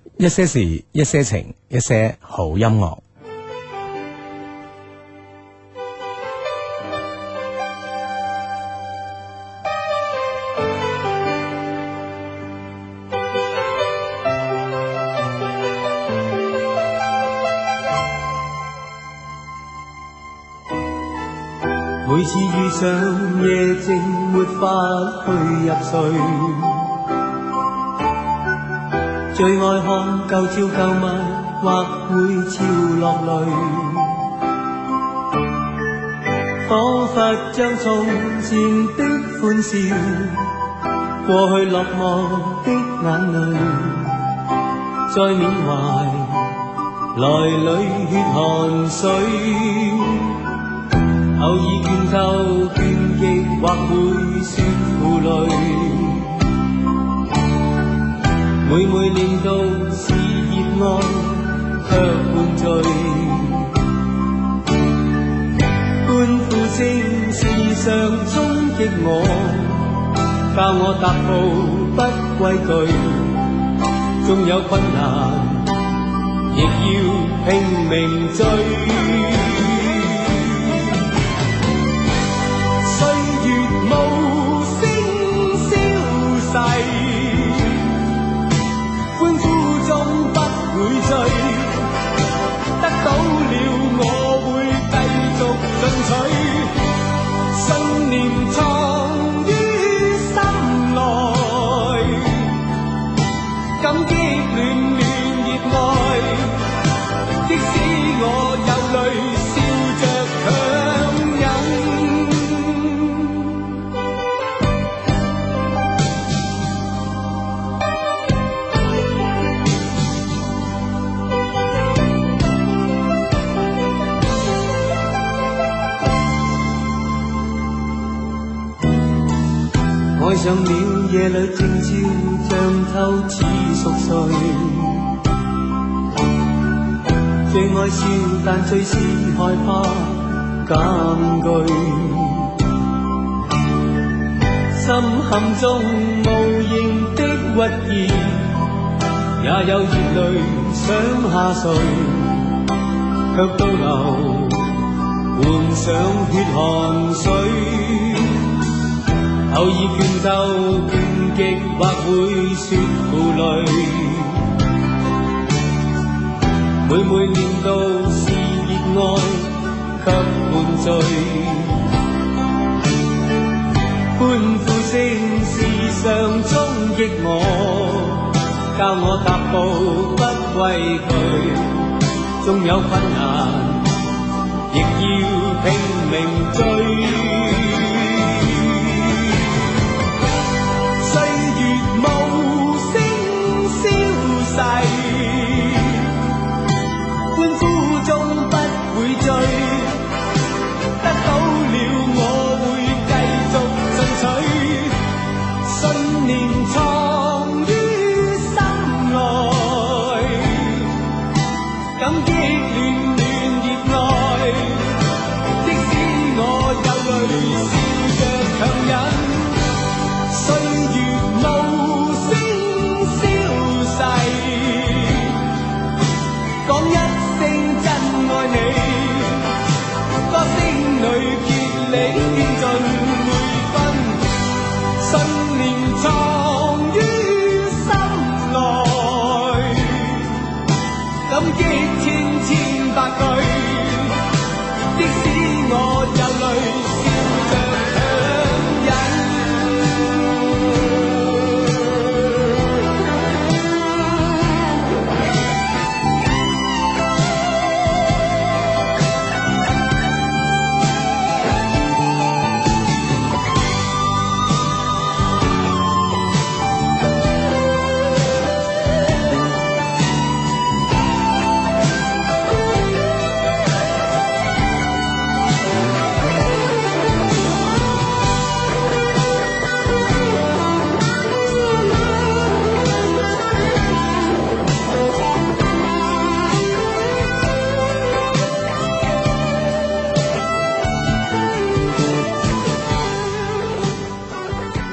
一些事，一些情，一些好音樂。 每次遇上夜靜，沒法去入睡，最愛看舊照舊物，或會潮落淚，彷彿將從前的歡笑，過去落寞的眼淚，再緬懷來裏血汗水。偶爾倦透倦極，或會說負累，每每念到是熱愛，卻灌醉。歡呼聲時常衝擊我，教我踏步不畏懼，縱有困難，亦要拼命追。歡呼中不會醉，得到了我會繼續進取，信念藏於心內，感激暖暖熱愛，即使我有淚，笑着強忍。愛上了夜裏靜悄，像透似熟睡，最愛笑，但最是害怕艱巨，心坎中無形的鬱結，也有熱淚想下垂，卻倒流換上血汗水。偶爾倦透倦極，或會說負累，每每念到是熱愛，卻灌醉。歡呼聲時常衝擊我，教我踏步不畏懼，縱有困難，亦要拼命追。歡呼中不會醉，得到了我會繼續進取，信念藏於心內，感激暖暖熱愛，即使我有淚。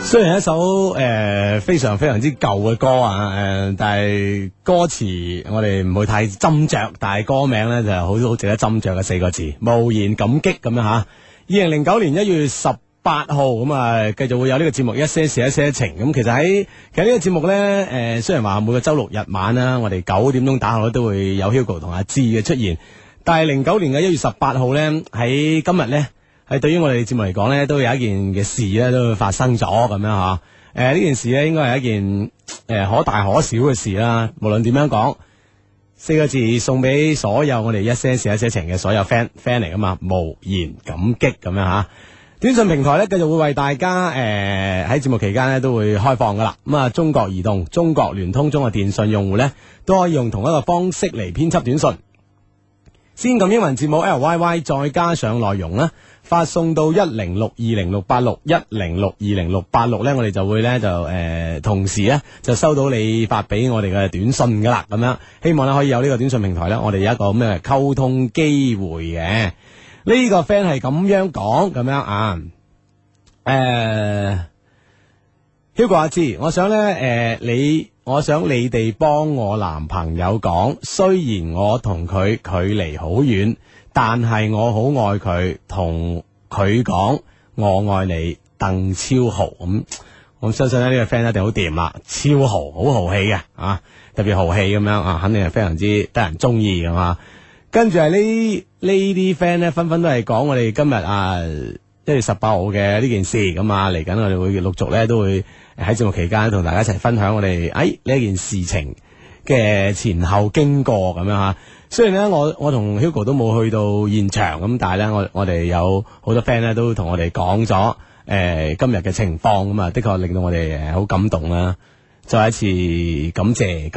雖然一首非常非常之舊嘅歌啊，但係歌詞我哋唔會太斟酌，但係歌名咧就係好值得斟酌嘅4個字，無言感激咁樣吓。2009年1月18號咁啊，繼續會有呢個節目一些事一些情。咁其實呢個節目咧，雖然話每個周六日晚啦，我哋9點鐘打後都會有 Hugo 同阿志嘅出現，但係09年嘅1月18號咧，喺今日咧。係對於我哋節目嚟講咧，都有一件嘅事咧，都會發生咗咁樣吓。呢件事咧，應該係一件可大可小嘅事啦。無論點樣講，4個字送俾所有我哋一些事一些情嘅所有 friend 嚟噶嘛，無言感激咁樣吓。短信平台咧，繼續會為大家喺節目期間咧都會開放噶啦。咁啊，中國移動、中國聯通、中國電信用戶咧，都可以用同一個方式嚟編輯短信。先撳英文字母 LYY， 再加上內容啦。發送到1062068610620686咧，我哋就會咧就同時咧就收到你發俾我哋嘅短信噶啦，咁樣希望咧可以有呢個短信平台咧，我哋有一個咩溝通機會嘅。呢個 friend 係咁樣講咁樣啊，Hugo 阿志，我想你哋幫我男朋友講，雖然我同佢距離好遠。但係我好愛佢，同佢講我愛你，鄧超豪咁，我相信咧呢個 friend 一定好掂啦，超豪好豪氣嘅啊，特別豪氣咁樣啊，肯定係非常之得人中意噶嘛。跟住係呢啲 friend 咧，紛紛都係講我哋今日1月18號嘅呢件事咁啊，嚟緊我哋會陸續咧都會喺節目期間同大家一齊分享我哋呢一件事情嘅前後經過咁樣吓。雖然咧，我同 Hugo 都冇去到現場咁，但係咧，我哋有好多 friend 咧都同我哋講咗今日嘅情況咁啊，的確令到我哋好感動啦。再一次感謝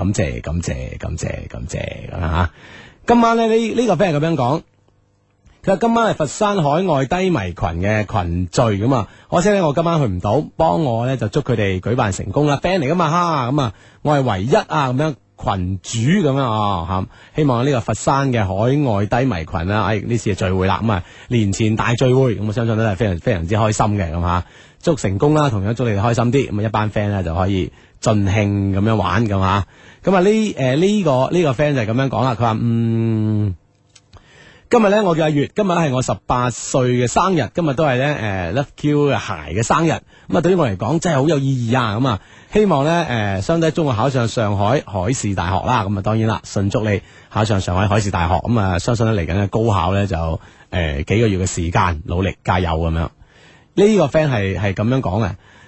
咁吓。今晚咧呢個 friend 係咁樣講，佢話今晚係佛山海外低迷群嘅群聚咁啊，可惜咧我今晚去唔到，幫我咧就祝佢哋舉辦成功啦 ，friend 嚟噶嘛哈咁啊，我係唯一啊咁樣。群主咁樣啊，希望呢個佛山嘅海外低迷群啦，呢次嘅聚會啦，咁啊年前大聚會，咁我相信都係非常非常之開心嘅咁吓，祝成功啦，同樣祝你哋開心啲，咁啊一班 friend 咧就可以盡興咁樣玩咁吓，咁啊呢個 friend 就係咁樣講啦，佢話今日咧我叫阿月，今日係我18歲嘅生日，今日都係咧Love Q 嘅鞋嘅生日，咁啊對於我嚟講真係好有意義啊，咁啊希望咧相低中我考上上海海事大學啦，咁啊當然啦，順祝你考上上海海事大學，咁啊相信咧嚟緊嘅高考咧就幾個月嘅時間，努力加油咁樣。呢個 friend 係咁樣講嘅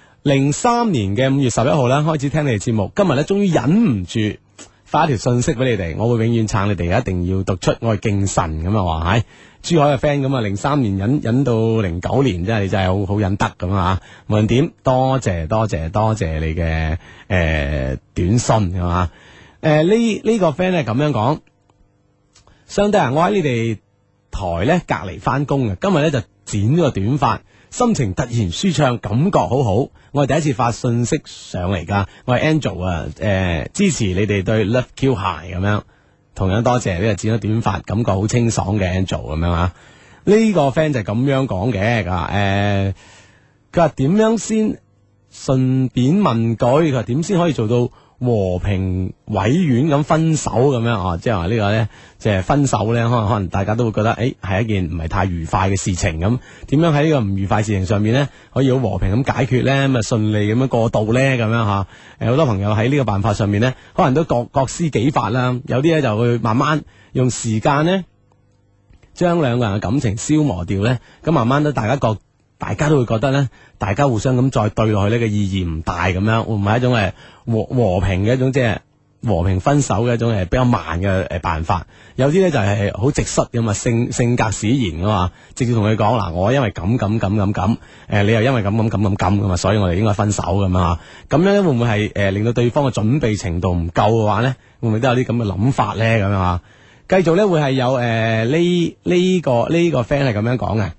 ，03年嘅5月11號咧開始聽你哋節目，今日咧終於忍唔住。發一條信息俾你哋，我會永遠撐你哋，一定要讀出我係敬神咁啊！話係珠海嘅 friend 咁啊，03年忍到09年，真係好忍得咁啊！無論點，多謝你嘅短信係嘛？呢個 friend 係咁樣講，相對我喺你哋台咧隔離翻工嘅，今日咧就剪咗個短髮。心情突然舒暢，感覺好好。我係第一次發信息上嚟噶，我係 Angel 啊，支持你哋對 Love Q 鞋咁樣，同樣多謝呢個剪咗短髮，感覺好清爽嘅 Angel 咁樣啊。呢個 friend 就係咁樣講嘅，佢話點樣先順便問句，佢話點先可以做到和平委婉咁分手咁樣啊？即係話呢個咧，即係分手咧，可能大家都會覺得係一件唔係太愉快嘅事情咁。點樣喺呢個唔愉快事情上面咧，可以好和平咁解決咧，咁啊順利咁樣過渡咧，咁樣吓。好多朋友喺呢個辦法上面咧，可能都各施己法啦。有啲咧就會慢慢用時間咧，將兩個人嘅感情消磨掉咧。咁慢慢都大家都會覺得咧，大家互相咁再對落去呢個意義唔大咁樣，會唔會係一種和平嘅一種即係和平分手嘅一種比較慢嘅辦法？有啲咧就係好直率咁啊，性格使然噶嘛，直接同佢講嗱，我因為咁，你又因為咁咁啊，所以我哋應該分手咁啊。咁樣會唔會係令到對方嘅準備程度唔夠嘅話咧，會唔會都有啲咁嘅諗法咧？咁樣啊，繼續咧會係有呢個 friend 係咁樣講嘅。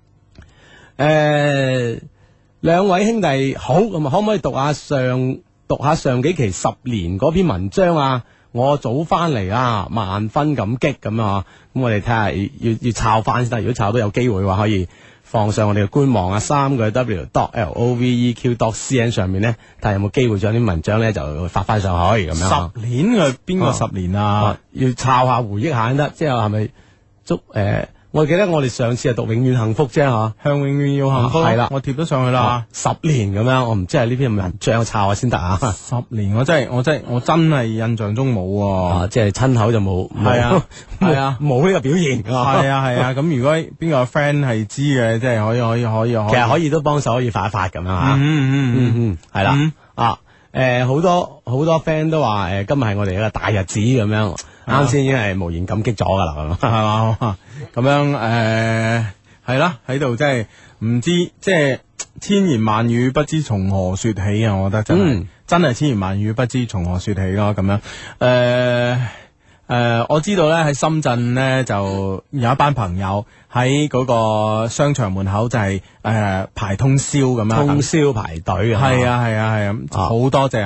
兩位兄弟好，咁啊，可唔可以讀下上幾期10年嗰篇文章啊？我早翻嚟啊，萬分感激咁啊！咁我哋睇下要抄翻先得，如果抄到有機會嘅話，可以放上我哋嘅官網啊3個W.LOVEQ.CN 上面咧，睇下有冇機會將啲文章咧就發翻上去咁樣。 10年嘅邊個10年啊？ 要抄下回憶下先得，即係係咪祝我記得我哋上次係讀永遠幸福啫吓， 向永遠要幸福係啦， 我貼咗上去啦。 10年咁樣，我唔知係呢篇文章抄下先得啊。 10年我真係印象中冇喎。 即係親口就冇， 係啊係啊冇呢個表現。 係啊係啊，咁如果邊個 friend 係知嘅，即係可以， 其實可以都幫手可以發一發咁樣吓。係啦好多 friend 都話今日係我哋一個大日子咁樣，啱先已經係無言感激咗噶啦，係嘛？ 咁樣係啦，喺度真係唔知，即係千言萬語不知從何說起啊！我覺得真係千言萬語不知從何說起咯。咁樣我知道咧喺深圳咧就有一班朋友喺嗰個商場門口就係排通宵咁樣， 通宵排隊啊！ 係啊，好多謝。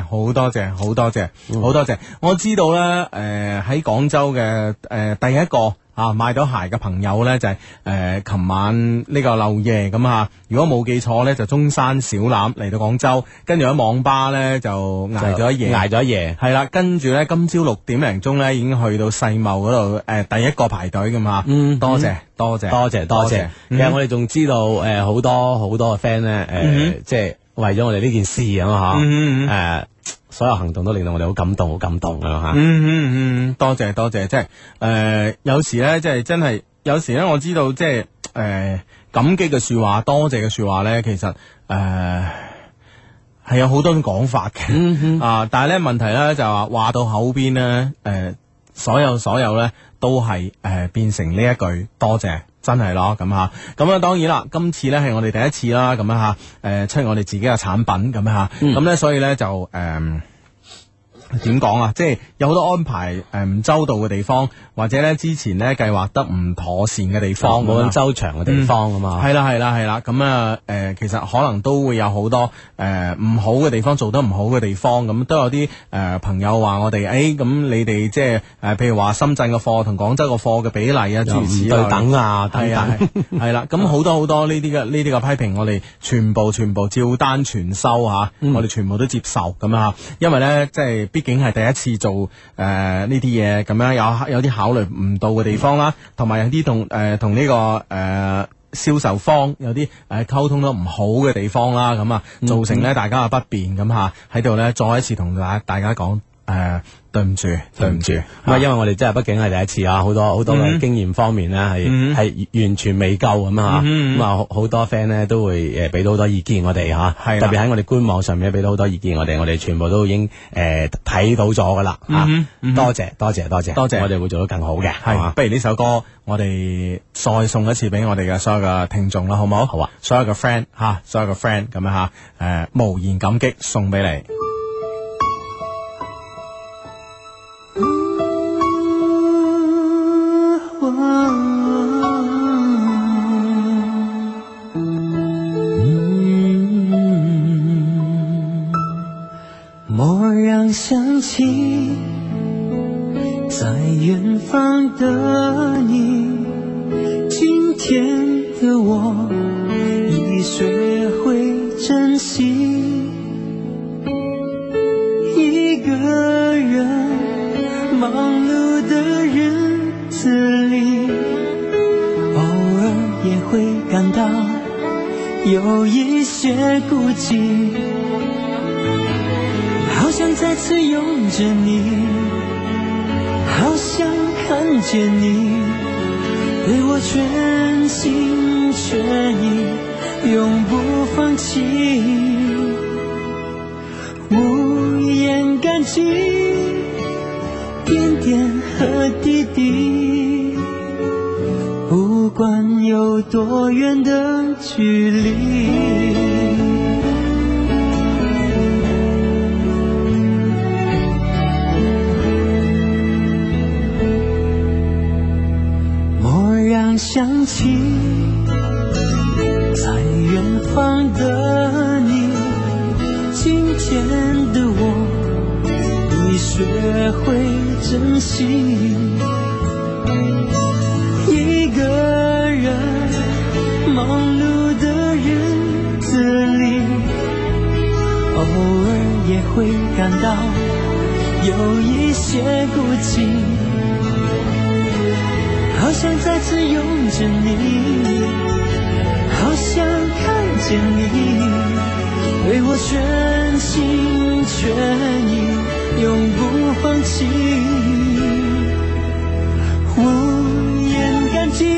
我知道咧喺廣州嘅第一個買到鞋嘅朋友咧就係琴晚呢個漏夜咁啊，如果冇記錯咧就中山小欖嚟到廣州，跟住喺網吧咧就捱咗一夜，係啦，跟住咧今朝6點零鐘咧已經去到世貿嗰度第一個排隊㗎嘛。多謝。其實我哋仲知道好多嘅 friend 咧即係為咗我哋呢件事咁吓所有行動都令到我哋好感動咁吓。 多謝，即係有時咧，即係真係有時咧，我知道即係感激嘅說話，多謝嘅說話咧，其實係有好多種講法嘅但係咧問題咧就話到口邊咧，所有咧都係變成呢一句多謝。真係咯，咁啊當然啦，今次咧係我哋第一次啦，咁出我哋自己嘅產品咁咁咧所以咧就點講啊？即係有好多安排唔周到嘅地方，或者咧之前咧計劃得唔妥善嘅地方， 冇咁周詳嘅地方啊嘛。 係啦，咁其實可能都會有好多唔好嘅地方，做得唔好嘅地方，咁都有啲朋友話我哋咁你哋即係譬如話深圳嘅貨同廣州嘅貨嘅比例啊，諸如此類對等啊， 係啦，咁好多呢啲嘅批評，我哋全部照單全收吓，我哋全部都接受咁因為咧即係。畢竟係第一次做呢啲嘢，咁樣有啲考慮唔到嘅地方啦，同埋有啲同呢個銷售方有啲溝通得唔好嘅地方啦，咁造成咧大家嘅不便，咁喺度咧再一次同大家講對唔住， 因為我哋真係畢竟係第一次好多嘅經驗方面咧係完全未夠咁好多 friend 咧都會俾到好多意見我哋特別喺我哋官網上面俾到好多意見我哋全部都已經睇到咗噶啦多謝，我哋會做得更好嘅。 不如呢首歌我哋再送一次俾我哋嘅所有嘅聽眾啦，好唔好？好啊，所有嘅 friend 咁樣無言感激送俾你。 蓦然想起在遠方的你，今天的我已學會珍惜，一個人忙碌的日子裏，偶爾也會感到有一些孤寂，好想再次擁着你，好想看見你對我全心全意，永不放棄，無言感激點點和滴滴，不管有多遠的距離。想起在遠方的你，今天的我已學會珍惜，一個人忙碌爾也會感到有一些孤寂，好想再次擁着你，好想看見你，對我全心全意，永不放棄，無言感激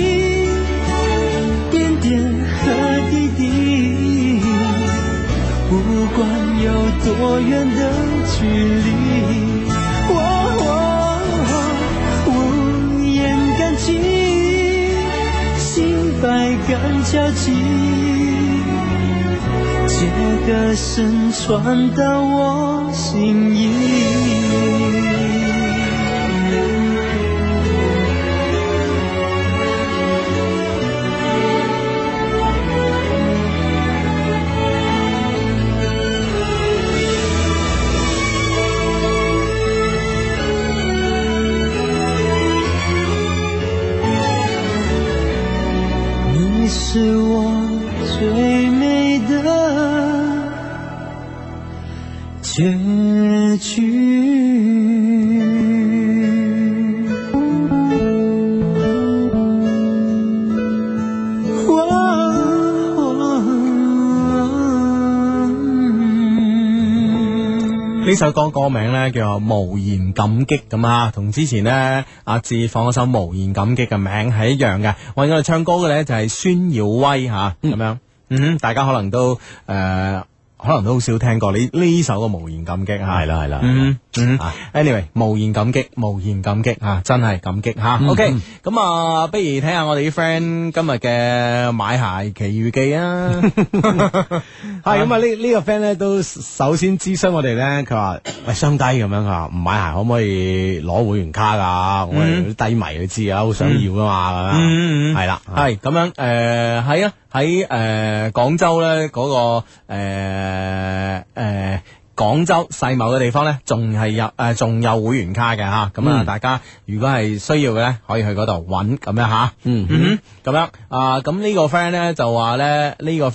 點點和滴滴，不管有多遠的距離，無言感激，心百感交集，借歌聲傳到我心裡。是我最美的結局。 呢首歌歌名咧叫做無言感激咁啊，同之前呢阿志放嗰首無言感激嘅名係一樣嘅。為我哋唱歌嘅咧就係孫耀威吓咁樣，大家可能都好少聽過呢首嘅無言感激吓， 係啦， anyway 無言感激吓，真係感激吓。OK， 咁啊，不如睇下我哋啲 friend 今日嘅買鞋奇遇記啊。 係咁啊，呢個 friend 咧都首先諮詢我哋咧，佢話喂雙低咁樣，佢話唔買鞋可唔可以攞會員卡噶？我哋啲低迷你知啊，好想要噶嘛，咁樣係啦， 係咁樣係啊。喺廣州咧嗰個廣州世貿嘅地方咧，仲有會員卡嘅吓，咁啊，大家如果係需要嘅咧，可以去嗰度揾咁樣吓，咁樣啊，咁呢個 friend 咧就話咧，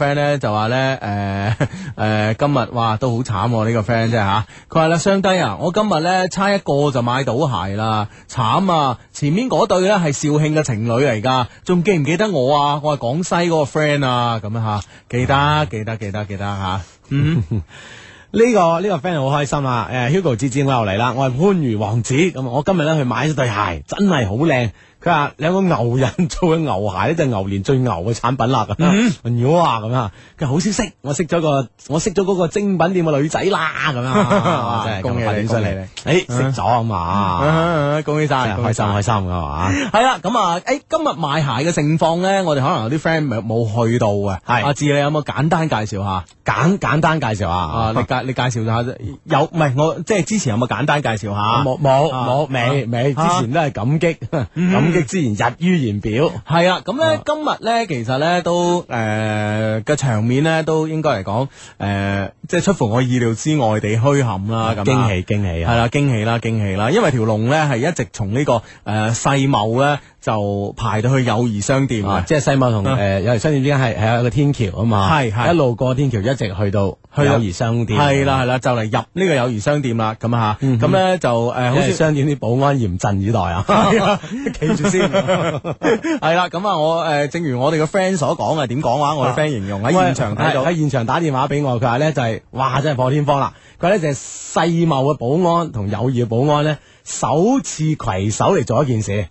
今日哇都好慘，呢個 friend 啫吓，佢話啦，雙低啊，我今日咧差一個就買到鞋啦，慘啊！前面嗰對咧係肇慶嘅情侶嚟噶，仲記唔記得我啊？我係廣西嗰個 friend 啊，咁樣吓，記得吓， 呢個 friend 好開心啊！Hugo 志志我又嚟啦，我係番禺王子，咁我今日咧去買咗對鞋，真係好靚。佢話兩個牛人做嘅牛鞋咧，就係牛年最牛嘅產品啦。哇咁啊！佢好消息，我識咗嗰個精品店嘅女仔啦。咁樣真係恭喜你， 犀利！識咗啊嘛， 恭喜晒， 開心噶嘛。 係啦，咁啊，今日賣鞋嘅情況咧，我哋可能有啲 friend 冇去到嘅。係阿志，你有冇簡單介紹下？簡單介紹下啊！你介紹下有唔係我即係之前有冇簡單介紹下？ 冇未，之前都係感激之言溢於言表。 係啊，咁咧今日咧其實咧都嘅場面咧都應該嚟講即係出乎我意料之外地墟冚啦，咁驚喜啊！ 係啦，驚喜啦，因為條龍咧係一直從呢個世貿咧就排到去友誼商店啊， 即係世貿同友誼商店之間係有個天橋啊嘛，係一路過天橋一直去到友誼商店， 係啦，就嚟入呢個友誼商店啦，咁啊吓，咁咧就好似商店啲保安嚴陣以待啊， 企住先，係啦，咁啊我正如我哋個 friend 所講啊，點講話？我哋 friend 形容喺現場睇到， 喺現場打電話俾我，佢話咧就係哇真係破天荒啦，佢話咧就係世貿嘅保安同友誼嘅保安咧首次攜手嚟做一件事，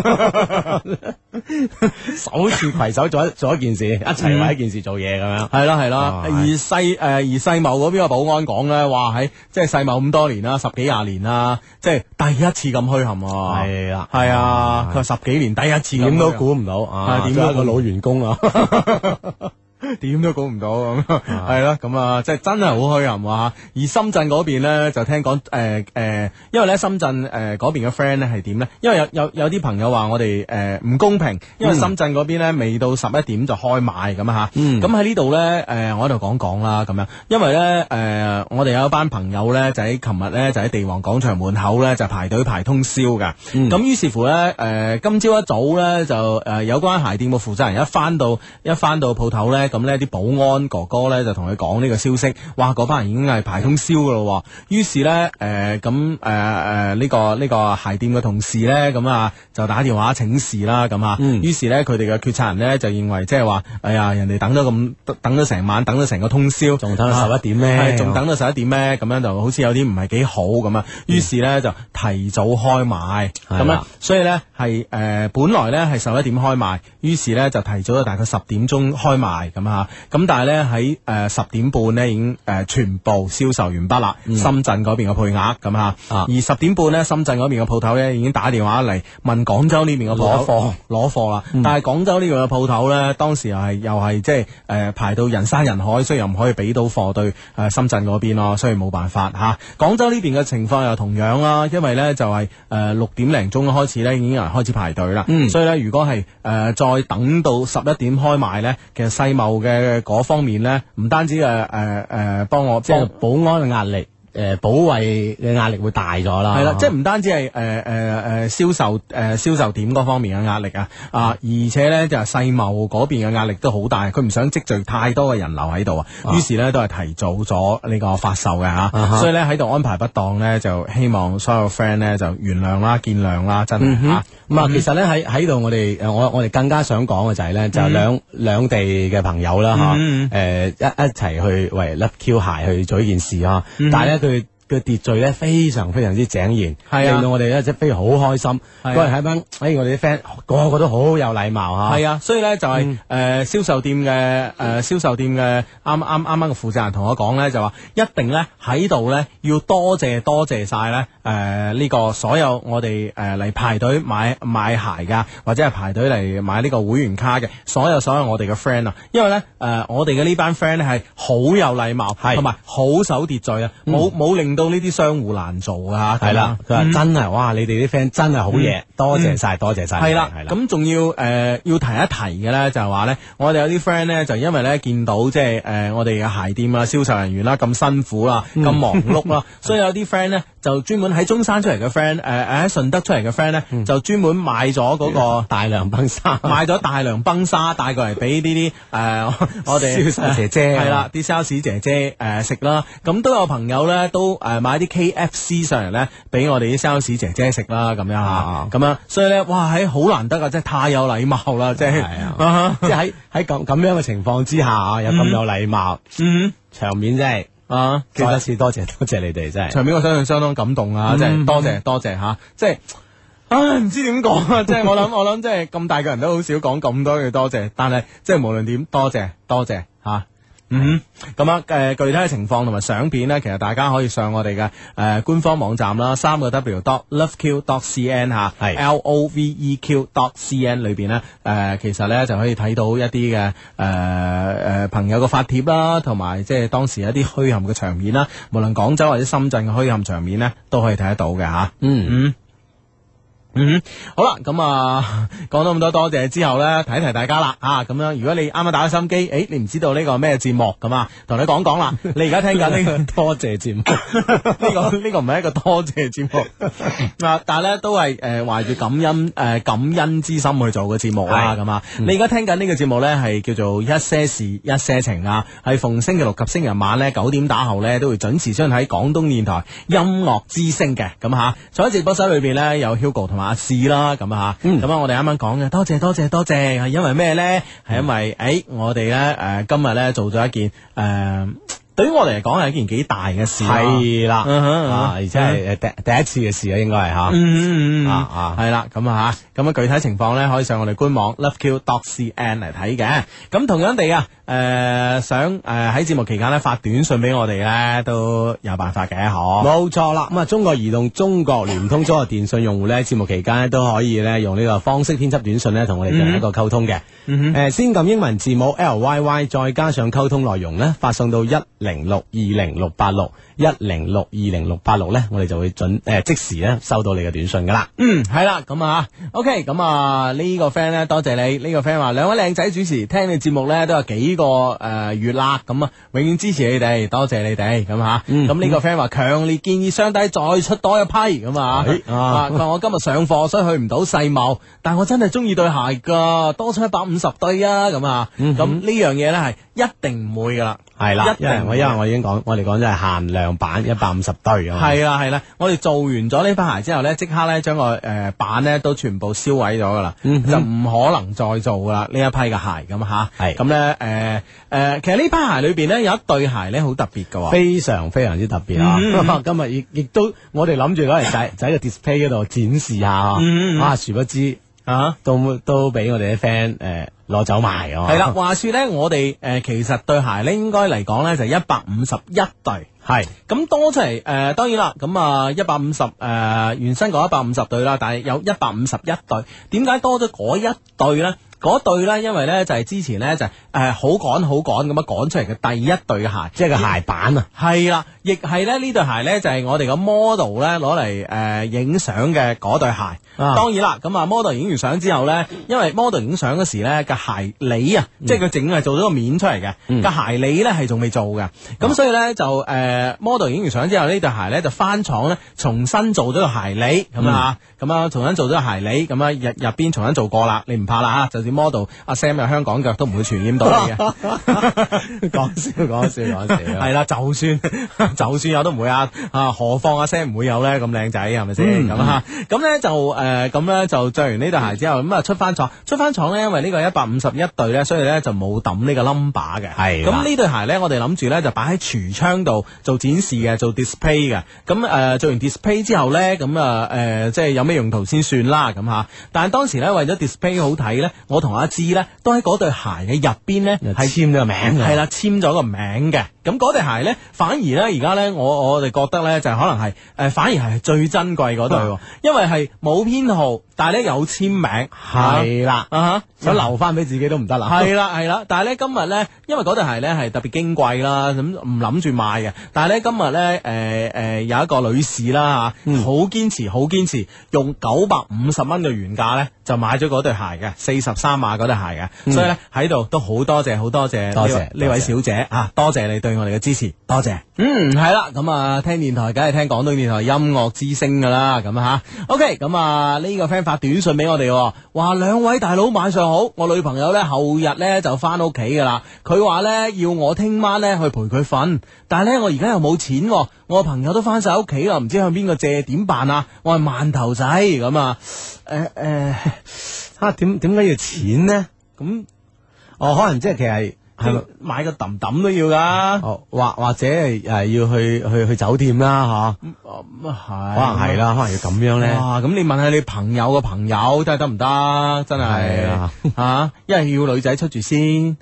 首次攜手做一件事，一齊為一件事做嘢咁樣， 係啦，而世貿嗰邊嘅保安講咧，哇喺即係世貿咁多年啦，十幾廿年啦，即係第一次咁墟冚啊，係啊，佢話十幾年第一次， 點都估唔到啊，點解個老員工啊？ 點都估唔到咁，係咯，咁啊，即係真係好墟冚啊！而深圳嗰邊咧，就聽講因為咧深圳嗰邊嘅 friend 咧係點咧？因為有啲朋友話我哋唔公平，因為深圳嗰邊咧未到11點就開賣咁啊嚇。咁喺呢度咧我喺度講啦咁樣，因為咧我哋有一班朋友咧就喺琴日咧就喺地王廣場門口咧就排隊排通宵㗎。咁於是乎咧今朝一早咧就有關鞋店嘅負責人一翻到鋪頭咧。 咁呢啲保安哥哥呢，就同佢講呢個消息，哇！嗰班人已經係排通宵噶咯，於是呢，呢個鞋店嘅同事呢，咁啊就打電話請示啦，咁啊，於是呢，佢哋嘅決策人呢，就認為即係話，哎呀，人哋等咗成晚，等咗成個通宵， 仲等到11點咩？ 仲等到11點咩？咁樣就好似有啲唔係幾好咁啊，於是呢，就提早開賣，咁啊，所以呢，係本來呢係11點開賣，於是呢，就提早咗大概10點鐘開賣咁啊，咁但係呢，喺10點半呢已經全部銷售完畢啦，深圳嗰邊嘅配額咁啊，而10點半呢，深圳嗰邊嘅鋪頭呢已經打電話嚟問廣州呢邊嘅鋪頭攞貨啦，但係廣州呢邊嘅鋪頭呢，當時又係即係排到人山人海，所以又唔可以俾到貨對深圳嗰邊咯，所以冇辦法嚇。廣州呢邊嘅情況又同樣啦，因為呢就係6點零鐘開始呢已經有人開始排隊啦，所以呢，如果係再等到11點開賣呢，其實世貿嘅嗰方面呢，唔單止幫我即係保安嘅壓力。保衛嘅壓力會大咗啦， 係啦，即係唔單止係銷售點嗰方面嘅壓力啊，而且咧就係世貿嗰邊嘅壓力都好大，佢唔想積聚太多嘅人流喺度啊，於是咧都係提早咗呢個發售嘅吓，所以咧喺度安排不當咧，就希望所有 friend 咧就原諒啦、見諒啦，真係吓。 咁啊，其實咧喺度我哋更加想講嘅就係咧，就兩地嘅朋友啦吓，一齊去為 Love Q 鞋去做呢件事啊，但係咧。佢嘅秩序咧非常非常之井然，令到我哋咧即係非常好開心。嗰日喺班，我哋啲 friend 個個都好有禮貌嚇。 係啊，所以咧就係銷售店嘅啱啱嘅負責人同我講咧，就話一定咧喺度咧要多謝晒咧呢個所有我哋嚟排隊買鞋噶，或者係排隊嚟買呢個會員卡嘅所有我哋嘅 friend 啊，因為咧我哋嘅呢班 friend 咧係好有禮貌，同埋好守秩序啊，冇令到呢啲商戶難做啊，係啦， 佢話真係哇，你哋啲 friend 真係好嘢，多謝晒， 係啦，咁仲要提一提嘅咧，就係話咧，我哋有啲 friend 咧就因為咧見到即係我哋嘅鞋店啊、銷售人員啦咁辛苦啦、咁忙碌啦，所以有啲 friend 咧就專門喺中山出嚟嘅 friend，喺順德出嚟嘅 friend 咧就專門買咗嗰個大良崩沙， 買咗大良崩沙帶過嚟俾呢啲我哋銷售姐姐係啦，啲 sales 姐姐食啦，咁都有朋友咧都買啲 KFC 上嚟咧俾我哋啲 sales 姐姐食啦，咁樣嚇，咁樣，所以咧哇喺好難得啊，真係太有禮貌啦，即係即係喺咁樣嘅情況之下啊，有咁有禮貌，場面真係再一次多謝你哋，真係場面我相信相當感動啊，即係多謝嚇，即係唔知點講啊，即係我諗即係咁大個人都好少講咁多嘅多謝，但係即係無論點多謝嚇。咁啊，具體嘅情況同埋相片呢，其實大家可以上我哋嘅官方網站啦，3w.loveq.cn 吓，係 LOVEQ.cn 裏邊呢，其實呢就可以睇到一啲嘅朋友嘅發帖啦，同埋即係當時一啲墟冚嘅場面啦，無論廣州或者深圳嘅墟冚場面呢，都可以睇得到嘅吓。好啦，咁講咗咁多謝之後咧，提一提大家啦，咁樣，如果你啱啱打開心機，你唔知道呢個咩節目咁啊，同你講啦，你而家聽緊呢個多謝節目， 呢個唔係一個多謝節目，但係咧都係懷住感恩之心去做嘅節目啦，咁啊，你而家聽緊呢個節目咧係叫做一些事一些情啊，係逢星期六及星期日晚咧9點打後咧都會準時出現喺廣東電台音樂之聲嘅，咁吓，坐喺直播室裏邊咧有 Hugo 同埋阿士啦，咁啊，咁我哋啱啱講嘅多謝，係因為咩咧？係因為我哋咧今日咧做咗一件對於我哋嚟講係一件幾大嘅事， 係啦，而且係第一次嘅事啊，應該係吓， 係啦，咁啊吓，咁啊具體情況咧可以上我哋官網 loveq.cn 嚟睇嘅。咁同樣地啊，想喺節目期間咧發短信俾我哋咧都有辦法嘅， 冇錯啦。咁啊，中國移動、中國聯通、中國電信用戶咧，節目期間咧都可以咧用呢個方式編輯短信咧同我哋進行一個溝通嘅。先撳英文字母 LYY， 再加上溝通內容咧，發送到10620686。 1062086咧，我哋就會即時咧收到你嘅短信噶啦。 係啦，咁啊，OK，咁啊呢個 friend 咧，多謝你。呢個 friend 話兩位靚仔主持，聽你節目咧都有幾個月啦，咁啊，永遠支持你哋，多謝你哋，咁吓。咁呢個 friend 話強烈建議雙低再出多一批，咁啊，佢話我今日上課所以去唔到世貿，但我真係中意對鞋噶，多出150對啊，咁啊，咁呢樣嘢咧係一定唔會噶啦。 係啦，因為一定我已經講，我哋講咗係限量版150對啊。 係啦，我哋做完咗呢批鞋之後咧，即刻咧將個版咧都全部燒毀咗噶啦，就唔可能再做噶啦呢一批嘅鞋咁吓。係咁咧其實呢批鞋裏邊咧有一對鞋咧好特別噶， 非常非常之特別啊！今日亦都我哋諗住攞嚟就喺個 display 嗰度展示下啊，殊不知都俾我哋啲 friend 攞走埋啊！ 係啦，話說咧，我哋其實對鞋咧應該嚟講咧就151對，係咁多出嚟當然啦，咁啊150原身講150對啦，但係有151對，點解多咗嗰一對咧？嗰對咧，因為咧就係之前咧就係好趕咁樣趕出嚟嘅第一對鞋， 即係個鞋板啊， 係啦，亦係咧呢對鞋咧就係我哋個 model 咧攞嚟影相嘅嗰對鞋。當然啦，咁啊 model 影完相之後咧，因為 model 影相嗰時咧個鞋裏啊，即係佢整係做咗個面出嚟嘅，個鞋裏咧係仲未做嘅，咁所以咧就model 影完相之後呢對鞋咧就翻廠咧重新做咗個鞋裏咁啊，咁啊重新做咗個鞋裏，咁啊入邊重新做過啦，你唔怕啦嚇，就model 阿 Sam 有香港腳都唔會傳染到你嘅，講笑，係啦，就算有都唔會啊，何況阿 Sam 唔會有咧咁靚仔係咪先咁啊？咁咧就咁咧就着完呢對鞋之後，咁啊出翻廠咧，因為呢個151對咧，所以咧就冇抌呢個 number 嘅。係咁呢對鞋咧，我哋諗住咧就擺喺櫥窗度做展示嘅，做 display 嘅。咁做完 display 之後咧，咁即係有咩用途先算啦咁吓。但係當時咧為咗 display 好睇咧，我同阿芝咧都喺嗰對鞋嘅入邊咧係簽咗個名嘅，係啦，簽咗個名嘅。咁嗰對鞋咧，反而咧而家咧我哋覺得咧就可能係反而係最珍貴嗰對，因為係冇編號，但係咧有簽名，係啦，想留翻俾自己都唔得啦，係啦。但係咧今日咧，因為嗰對鞋咧係特別矜貴啦，咁唔諗住賣嘅。但係咧今日咧有一個女士啦嚇，好堅持用950蚊嘅原價咧就買咗嗰對鞋嘅43碼嗰對鞋嘅，所以咧喺度都好多謝呢位小姐啊，多謝你對我哋嘅支持，多謝。係啦，咁啊聽電台梗係聽廣東電台音樂之聲噶啦，咁吓 OK， 咁啊呢個 friend 發短信俾我哋，話兩位大佬晚上好，我女朋友咧後日咧就翻屋企噶啦，佢話咧要我聽晚咧去陪佢瞓，但係咧我而家又冇錢，我朋友都翻晒屋企啦，唔知向邊個借，點辦啊？我係饅頭仔咁啊， 點解要錢呢？咁可能即係其實係買個揼揼都要噶， 或者係要去酒店啦，係可能係啦，可能要咁樣咧。 咁你問下你朋友嘅朋友睇下得唔得？真係吓，因為要女仔出住先。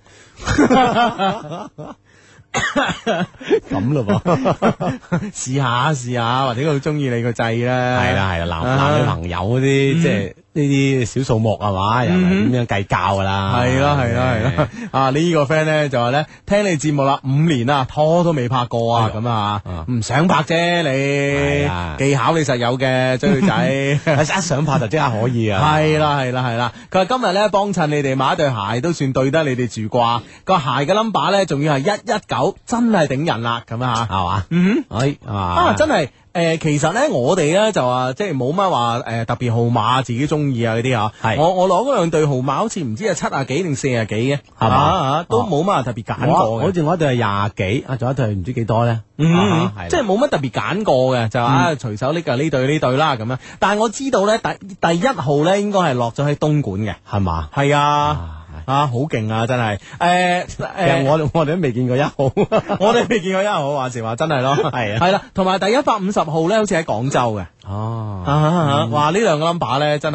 咁咯噃， 試下，或者佢好中意你個掣啦。 係啦，男女朋友嗰啲即係呢啲小數目係嘛，又係點樣計較噶啦？ 係啦。呢個 friend 咧就話咧，聽你節目啦5年啦，拖都未拍過啊，咁啊，唔想拍啫你，技巧你實有嘅追女仔， 一想拍就即刻可以啊。 係啦。佢話今日咧幫襯你哋買一對鞋，都算對得你哋住啩。個鞋嘅 number 咧仲要係119，真係頂人啦，咁啊， 係嘛？ 真係。其實咧，我哋咧就話即係冇乜話特別號碼自己中意啊嗰啲啊。我攞嗰兩對號碼，好似唔知係70幾定40幾嘅，係嘛？都冇乜話特別揀過嘅。 好似我一對係20幾，仲有一對唔知幾多咧。 即係冇乜特別揀過嘅，就話隨手拎呢對啦咁樣。但係我知道咧，第一號咧應該係落咗喺東莞嘅， 係嘛？ 係啊。好勁啊！真係， 其實我哋都未見過1號， 我哋未見過1號，話時話真係咯，係啦，同埋第150號咧，好似喺廣州嘅，哇！呢兩個 number 咧，真係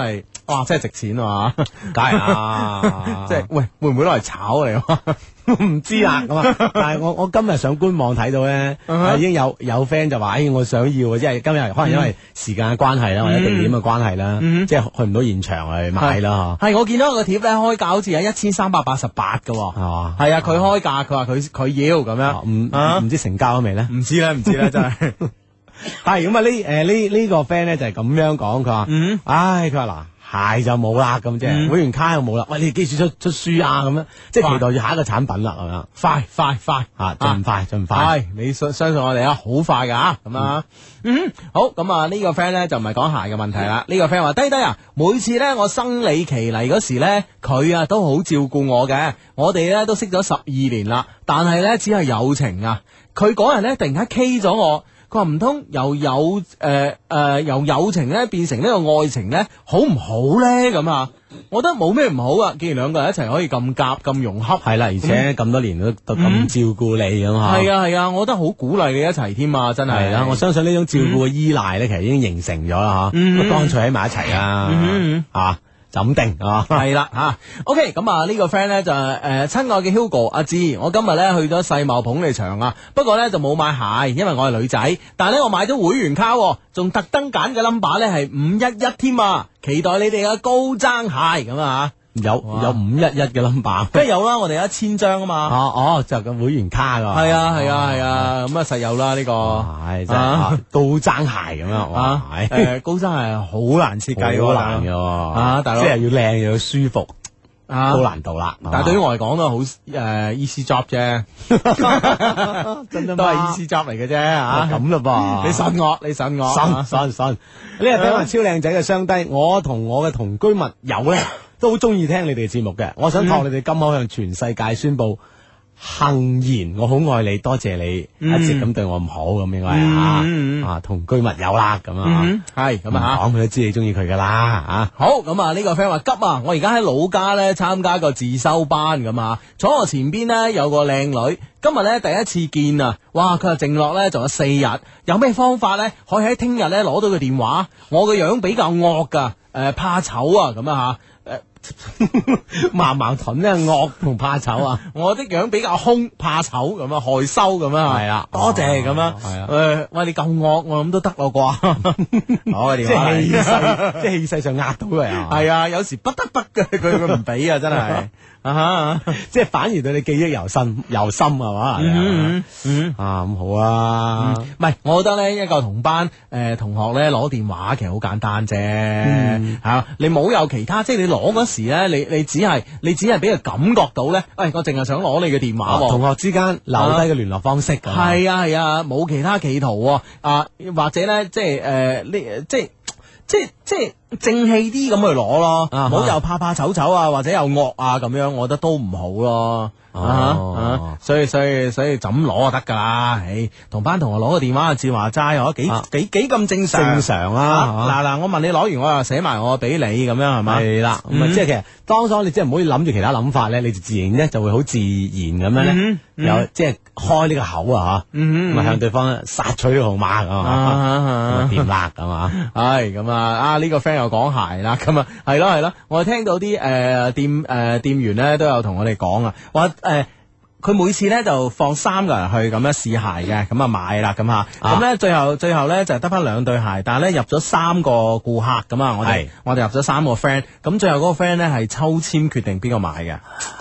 哇，真係值錢啊！ 梗係啦， 即係喂，會唔會攞嚟炒嚟？ 唔知啦咁啊！但係我今日上官網睇到咧，已經有 friend 就話：，我想要啊！即係今日可能因為時間嘅關係啦，或者地點嘅關係啦，即係去唔到現場去買啦。 係我見到個貼咧，開價好似係1388嘅，係嘛？係啊，佢開價，佢話佢要咁樣， 唔知成交咗未咧？ 唔知咧，真係。 係咁啊！呢個 friend 咧就係咁樣講，佢話：，唉，佢話嗱。鞋就冇啦，咁即係會員卡又冇啦。喂，你記住出書啊，咁樣即係期待住下一個產品啦，咁樣快啊，盡快。 係你相信我哋啊，好快噶咁啊。好咁啊，呢個 friend 咧就唔係講鞋嘅問題啦。呢個 friend 話：低啊，每次咧我生理期嚟嗰時咧，佢啊都好照顧我嘅。我哋咧都識咗12年啦，但係咧只係友情啊。佢嗰日咧突然間 K 咗我。佢話唔通由友情咧變成呢個愛情咧，好唔好咧？咁啊，我覺得冇咩唔好啊。既然兩個人一齊可以咁夾咁融洽， 係啦，而且咁多年都咁照顧你咁吓， 係啊，我覺得好鼓勵你一齊添啊！真係啦，我相信呢種照顧嘅依賴咧，其實已經形成咗啦吓，乾脆喺埋一齊啊，就咁定啊， 係啦吓。OK，咁啊呢個 friend 咧就親愛嘅 Hugo 阿芝，我今日咧去咗世貿捧你場啊，不過咧就冇買鞋，因為我係女仔，但係咧我買咗會員卡，仲特登揀嘅 number 咧係511添啊，期待你哋嘅高踭鞋咁啊。 有511嘅 number， 梗係有啦，我哋有1000張啊嘛。 就個會員卡噶。 係啊，咁啊實有啦呢個。 係真係高踭鞋咁樣，哇！ 高踭鞋好難設計， 好難嘅， 大佬， 即係要靚又要舒服，高難度啦。 但係對於我嚟講都好easy job 啫，都係 easy job 嚟嘅啫吓。 咁嘞噃， 你信我， 信。呢個俾埋超靚仔嘅雙低，我同我嘅同居密友咧。都好中意聽你哋嘅節目嘅，我想託你哋今口向全世界宣布，幸言我好愛你，多謝你一直咁對我唔好咁應該啊，同居密友啦咁啊， 係咁啊， 講佢都知你中意佢噶啦啊。 好咁啊，呢個 friend 話急啊，我而家喺老家咧參加個自修班咁啊，坐我前邊呢，有個靚女，今日咧第一次見啊，哇！佢話剩落咧仲有4日，有咩方法咧可以喺聽日咧攞到佢電話？我個樣比較惡噶，怕醜啊咁啊吓。 矛盾咧，惡同怕醜啊！ 我啲樣比較兇，怕醜咁啊，害羞咁啊， 係啦， 多謝咁啊， 係啊， 喂，你夠惡，我諗都得咯啩，攞個電話嚟， 即係氣勢上壓到佢啊， 係啊，有時不得不嘅，佢唔俾啊，真係即係反而對你記憶猶新係嘛，咁好啊， 唔係，我覺得咧一個同班同學咧攞電話其實好簡單啫，吓你冇有其他，即係你攞嗰時咧，你只係俾佢感覺到咧，我淨係想攞你嘅電話， 同學之間留低嘅聯絡方式， 係啊，冇其他企圖啊，或者咧即係即係正氣啲咁去攞咯，唔好又怕醜啊，或者又惡啊咁樣，我覺得都唔好咯。所以就咁攞就得噶啦，同班同學攞個電話至話齋，我幾咁正常啊！嗱，我問你攞完，我又寫埋我俾你咁樣係咪？ 係啦，咁啊，即係其實當初你即係唔好諗住其他諗法咧，你就自然咧就會好自然咁樣咧，有即係開呢個口啊，咁啊向對方索取號碼啊，掂啦咁啊， 係咁啊！呢個 friend 又講鞋啦，咁啊係咯，我聽到啲店員咧都有同我哋講啊，話佢每次咧就放3個人去咁樣試鞋嘅，咁啊買啦咁吓，咁咧最後咧就得翻2對鞋，但係咧入咗3個顧客咁啊，我哋入咗3個 friend，咁最後嗰個 friend 咧係抽籤決定邊個買嘅。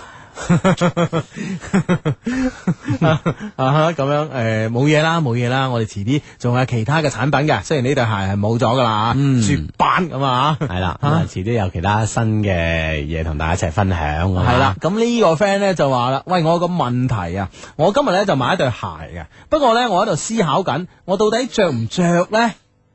咁樣冇嘢啦，我哋遲啲仲有其他嘅產品嘅，雖然呢對鞋係冇咗噶啦，絕版咁啊， 係啦，遲啲有其他新嘅嘢同大家一齊分享， 係啦。咁呢個 friend 咧就話啦，喂，我有個問題啊，我今日咧就買一對鞋嘅，不過咧我喺度思考緊，我到底着唔着咧？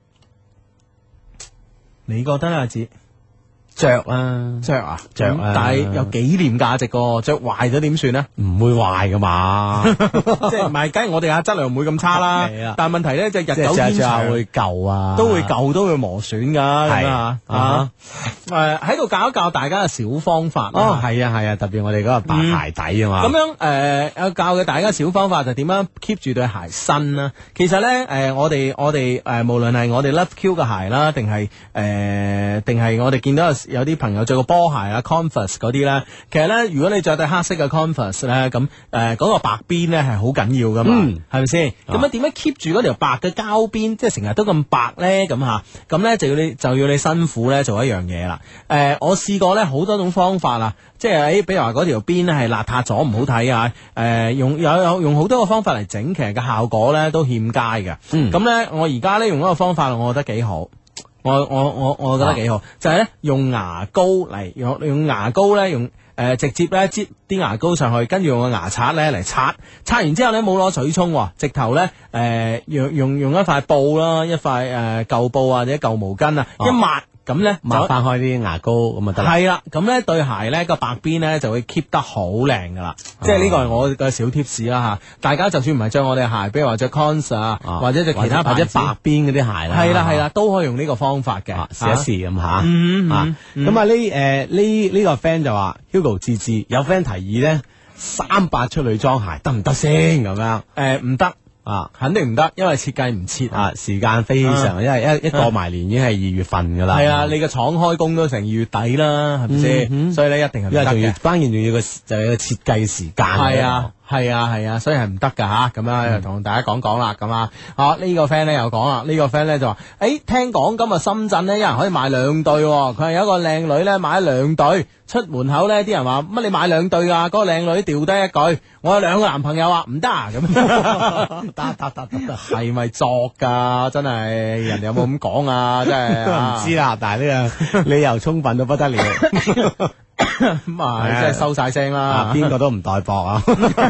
你覺得阿子？ 着啊， 但係有紀念價值個，着壞咗點算咧？ 唔會壞噶嘛， 即係唔係？梗係我哋質量唔會咁差啦。但係問題咧就日久天長會舊啊， 都會磨損噶。係喺度教一教大家嘅小方法。 哦，係啊係啊，特別我哋嗰個白鞋底啊嘛。 咁樣有教嘅大家小方法就點樣 keep 住對鞋新啦。其實咧我哋無論係我哋 Love Q 嘅鞋啦，定係我哋見到有啲朋友着個波鞋啊 Converse 嗰啲咧，其實咧如果你着對黑色嘅 Converse 咧，咁嗰個白邊咧係好緊要噶嘛，係咪先？咁樣點樣 keep 住嗰條白嘅膠邊，即係成日都咁白咧？咁咧就要你辛苦咧做一樣嘢啦。我試過咧好多種方法啊，即係比如話嗰條邊咧係邋遢咗唔好睇啊，用好多個方法嚟整，其實嘅效果咧都欠佳嘅。咁咧我而家咧用一個方法，我覺得幾好。我覺得幾好，就係咧用牙膏嚟用牙膏咧直接咧擠啲牙膏上去，跟住用個牙刷咧嚟刷完之後咧冇攞水沖，直頭咧用一塊布啦，一塊舊布或者舊毛巾啊，一抹。咁咧抹翻開啲牙膏咁就得啦。 係啦，咁咧對鞋咧個白邊咧就會 keep 得好靚噶啦。即係呢個係我嘅小 tips 啦吓。大家就算唔係着我哋鞋，比如話着 Cons 啊，或者着其他或者白邊嗰啲鞋啦， 係啦，都可以用呢個方法嘅， 試一試咁吓。咁啊呢個 friend 就話 Hugo 志志有 friend 提議咧38出女裝鞋得唔得先咁樣？ 唔得。肯定唔得，因為設計唔切啊，時間非常，因為一過埋年已經係2月份噶啦。 係啊，你個廠開工都成2月底啦，係咪先？所以咧一定係唔得嘅。 因為關鍵仲要就係個設計時間。 係啊，所以係唔得噶吓，咁樣同大家講啦，咁啊，呢個 friend 咧又講啦，呢個 friend 咧就話，聽講今日深圳咧有人可以買2對，佢係有一個靚女咧買咗2對，出門口咧啲人話乜你買2對啊？嗰個靚女掉低一句，我有2個男朋友啊，唔得啊咁，得，係咪作噶？真係人哋有冇咁講啊？真係唔知啦，但係呢個理由充分到不得了。 咁啊，真係收晒聲啦， 邊個都唔代薄啊！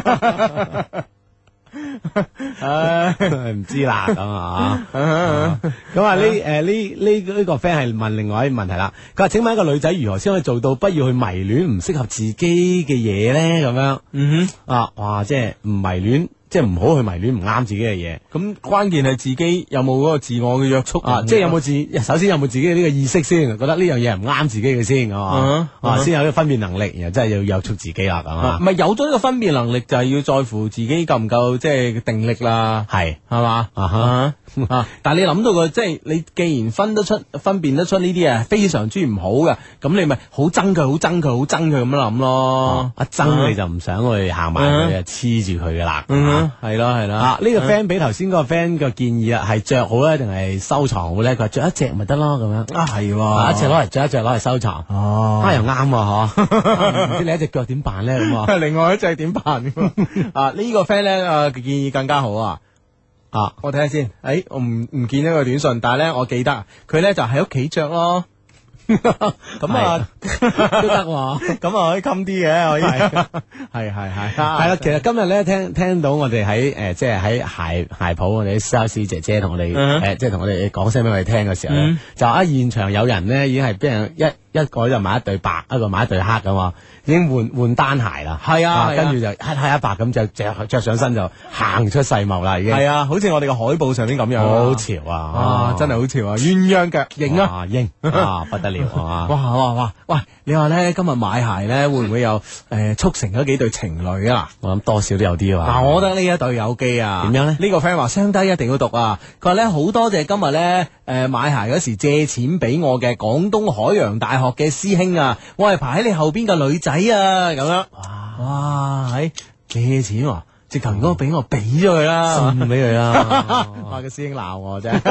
唔知啦咁啊，咁啊呢個 friend 係問另外一個問題啦。佢話請問一個女仔如何先可以做到不要去迷戀唔適合自己嘅嘢咧？咁樣哇，即係唔迷戀。即係唔好去迷戀唔啱自己嘅嘢， 咁關鍵係自己有冇嗰個自我嘅約束即係有冇首先有冇自己嘅呢個意識先，覺得呢樣嘢唔啱自己嘅先，先有呢個分辨能力，然後真係要約束自己啦，咁啊， 唔係有咗呢個分辨能力，就係要在乎自己夠唔夠即係定力啦，係嘛但係你諗到個即係你既然分辨得出呢啲嘢非常之唔好嘅，咁你咪好憎佢咁樣諗咯， 一憎你就唔想去行埋佢，黐住佢噶啦。 係咯， 呢個 friend 俾頭先嗰個 friend 嘅建議啊，係着好咧定係收藏好咧？佢話着一隻咪得咯，咁樣係一隻攞嚟着，一隻攞嚟收藏，又啱嗬，唔知你一隻腳點辦咧咁另外一隻點辦？呢個 friend 咧建議更加好我睇下先，我唔見咗個短信，但係咧我記得佢咧就喺屋企着咯。咁都得喎，咁可以襟啲嘅，可以係啦。其實今日咧聽到我哋喺即係喺鞋鋪，我哋啲 sales 姐姐同我哋即係同我哋講聲俾我哋聽嘅時候咧，就現場有人咧已經係俾人一個就買一對白，一個買一對黑噶嘛，已經換單鞋啦。係啊，跟住就黑一白咁就着上身就行出世貿啦，已經係啊， 好似我哋個海報上邊咁樣， 好潮啊！ 真係好潮啊！鴛鴦腳型啊， 型不得了啊！ 哇！喂，你話咧今日買鞋咧會唔會有促成咗幾對情侶啊？ 我諗多少都有啲啊。 嗱，我覺得呢一對有機啊。 點樣咧？ 呢個 friend 話雙低一定要讀啊！佢話咧好多謝今日咧買鞋嗰時借錢俾我嘅廣東海洋大學嘅師兄啊，我係排喺你後邊嘅女仔啊，咁樣哇，借錢喎，直頭如果俾我俾咗佢啦， 送俾佢啦， 話個師兄鬧我啫。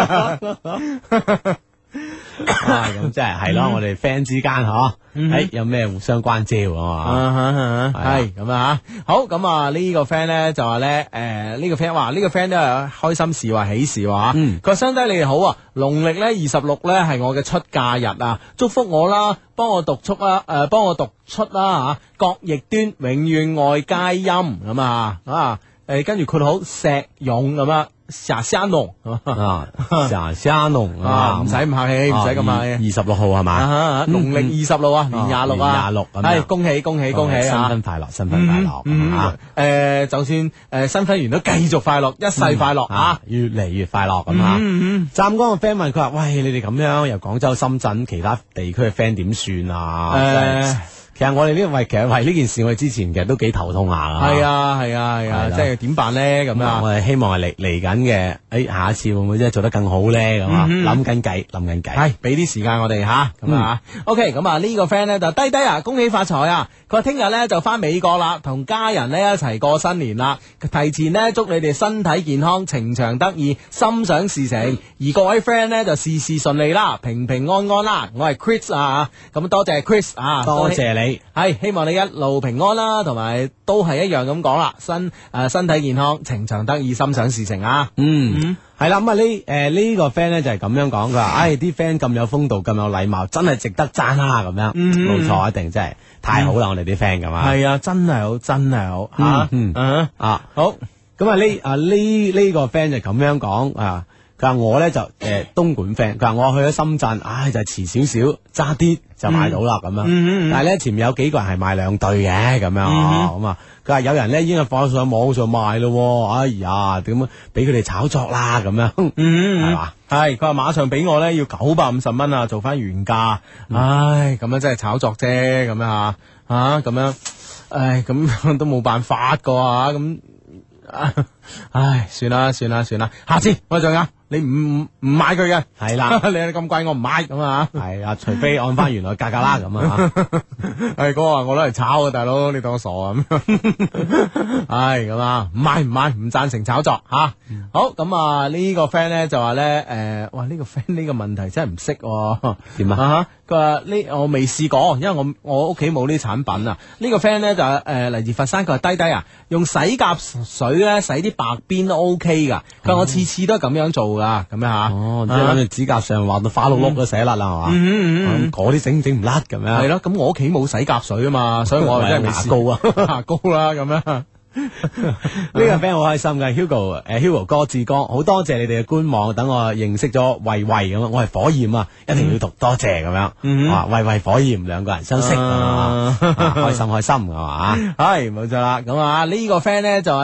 咁即係咯，我哋 friend 之間有咩互相關照啊嘛， 係咁啊吓，好咁啊呢個 friend 咧就話咧，呢個 friend 話呢個 friend 都係開心事話喜事話，佢話兄弟你哋好啊，農曆咧26咧係我嘅出嫁日啊，祝福我啦，幫我讀出啦，吓，各逆端永遠愛皆陰咁啊，跟住括號石勇咁啊。 霞霞濃啊，霞霞濃啊，唔使咁客氣，唔使咁客氣。 26號係嘛？ 農曆26啊，年26 年啊， 26咁樣係恭喜恭喜恭喜新啊！ 婚快樂，新婚快樂啊！ 就算新婚完都繼續快樂，一世快樂啊！ 越嚟越快樂咁啊！湛江嘅 friend 問佢話：喂，你哋咁樣由廣州、深圳其他地區嘅 friend 點算啊？其實我哋其實為呢件事，我哋之前其實都幾頭痛下噶。 係啊，即係點辦咧？咁啊， 我哋希望係嚟緊嘅，下一次會唔會真係做得更好咧？咁啊，諗緊計。 係俾啲時間我哋吓，咁啊 OK，咁啊呢個 friend 咧就低低啊，恭喜發財啊！佢話聽日咧就翻美國啦，同家人咧一齊過新年啦。提前咧祝你哋身體健康、情長得意、心想事成。而各位 friend 咧就事事順利啦，平平安安啦。我係 Chris 啊，咁多謝 Chris 啊， 多謝你。 係希望你一路平安啦，同埋都係一樣咁講啦，身體健康、情長得意、心想事成啊。 係啦，咁啊呢個 friend 咧就係咁樣講，佢話：啲 friend 咁有風度、咁有禮貌，真係值得讚啦咁樣。冇錯，一定真係太好啦，我哋啲 friend 咁啊。 係啊，真係好，真係好吓。好， 咁啊呢個 friend 就咁樣講啊。佢話我咧就東莞 friend，佢話我去咗深圳，就係遲少少，揸啲就買到啦咁樣。但係咧前面有幾個人係買2對嘅咁樣，咁啊佢話有人咧已經係放上網上賣咯，哎呀點樣俾佢哋炒作啦咁樣，係嘛？ 係佢話馬上俾我咧要950蚊啊，做翻原價。唉，咁樣真係炒作啫，咁樣吓咁樣，唉咁都冇辦法噶吓咁。唉，算啦，下次我再你唔買佢嘅， 係啦， 你咁貴我唔買咁啊， 係啊，除非按翻原來價格啦咁啊， 係哥話我攞嚟炒啊，大佬你當我傻啊咁，唉咁啊，唔買，唔贊成炒作吓。好咁啊，呢個 friend 咧就話咧，哇呢個 friend 呢個問題真係唔識點啊？ 佢話呢我未試過，因為我屋企冇呢啲產品啊。呢個 friend 咧就嚟自佛山，佢話低低啊，用洗甲水咧洗啲白邊都 OK 噶。佢話我次次都係咁樣做噶，咁樣吓。 即係諗住指甲上畫到花碌碌都洗甩啦，係嘛？嗰啲整唔甩咁樣。 係咯，咁我屋企冇洗甲水啊嘛，所以我真係未試過啊，牙膏啦咁樣。 呢個 friend 好開心嘅 Hugo 哥志哥，好多謝你哋嘅官網，等我認識咗慧慧咁樣，我係火焰啊，一定要讀多謝咁樣。慧慧火焰兩個人相識啊，開心係嘛？ 係冇錯啦。咁啊呢個 friend 咧就話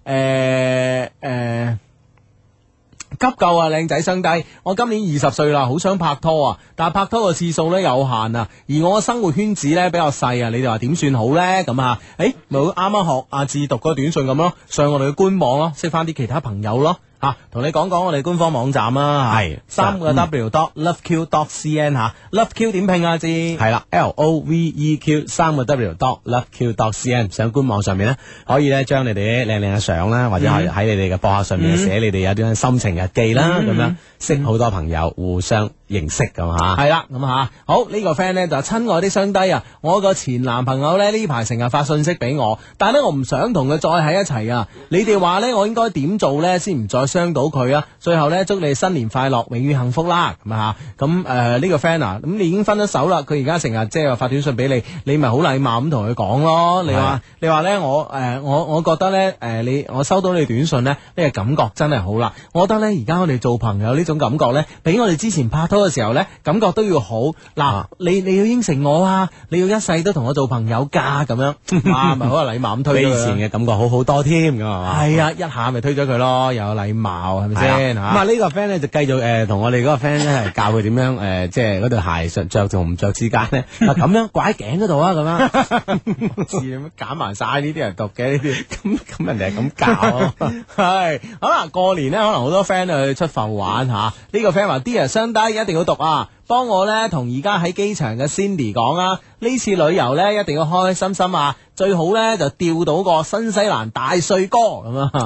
咧急救啊，靚仔相低！我今年20歲啦，好想拍拖啊，但係拍拖嘅次數咧有限啊，而我嘅生活圈子咧比較細啊，你哋話點算好咧？咁啊，咪啱啱學阿志讀嗰個短信咁咯，上我哋嘅官網咯，識翻啲其他朋友咯。同你講我哋官方網站啦，係3W.loveq.cn 吓，loveq 點拼啊？知係啦 ，LOVEQ 3W.loveq.cn 上官網上面咧，可以咧將你哋啲靚靚嘅相啦，或者係喺你哋嘅博客上面寫你哋有啲心情日記啦，咁樣識好多朋友，互相認識咁吓。 係啦，咁吓好呢個 friend 咧就親愛的雙低啊，我個前男朋友咧呢排成日發信息俾我，但係咧我唔想同佢再喺一齊啊！你哋話咧我應該點做咧先唔再傷到佢啊？最後咧祝你新年快樂，永遠幸福啦！咁啊咁呢個 friend 啊，咁你已經分咗手啦，佢而家成日即係話發短信俾你，你咪好禮貌咁同佢講咯。你話咧我覺得咧我收到你短信咧呢個感覺真係好啦。我覺得咧而家我哋做朋友呢種感覺咧，比我哋之前拍拖嘅時候咧感覺都要好。嗱，你要應承我啊，你要一世都同我做朋友噶咁樣，哇咪好有禮貌咁推比以前嘅感覺好好多添，咁係嘛？ 係啊，一下咪推咗佢咯，又有禮貌係咪先吓？ 咁啊呢個 friend 咧就繼續同我哋嗰個 friend 咧係教佢點樣即係嗰對鞋着同唔着之間咧，咁樣掛喺頸嗰度啊，咁樣似咁揀埋晒呢啲人讀嘅呢啲， 咁人哋係咁教， 係好啦。過年咧可能好多 friend 去出埠玩吓，呢個 friend 話 Dear 雙低一定要讀啊！幫我咧同而家喺機場嘅 Cindy 講啊，呢次旅遊咧一定要開開心心啊，最好咧就釣到個新西蘭大帥哥咁啊，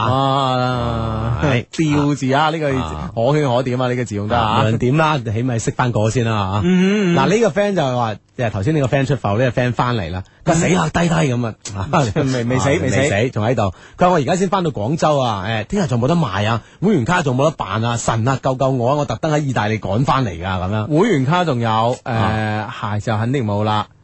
釣字啊，呢個可圈可點啊，呢個字用得啊， 無論點啦，起碼識翻個先啦吓。嗱呢個 friend 就係話，即係頭先呢個 friend 出埠，呢個 friend 翻嚟啦，佢死啦低咁啊，未死，仲喺度。佢話我而家先翻到廣州啊，聽日仲冇得賣啊，會員卡仲冇得辦啊，神啊救救我啊！我特登喺意大利趕翻嚟噶咁樣。 會員卡仲有，鞋就肯定冇啦。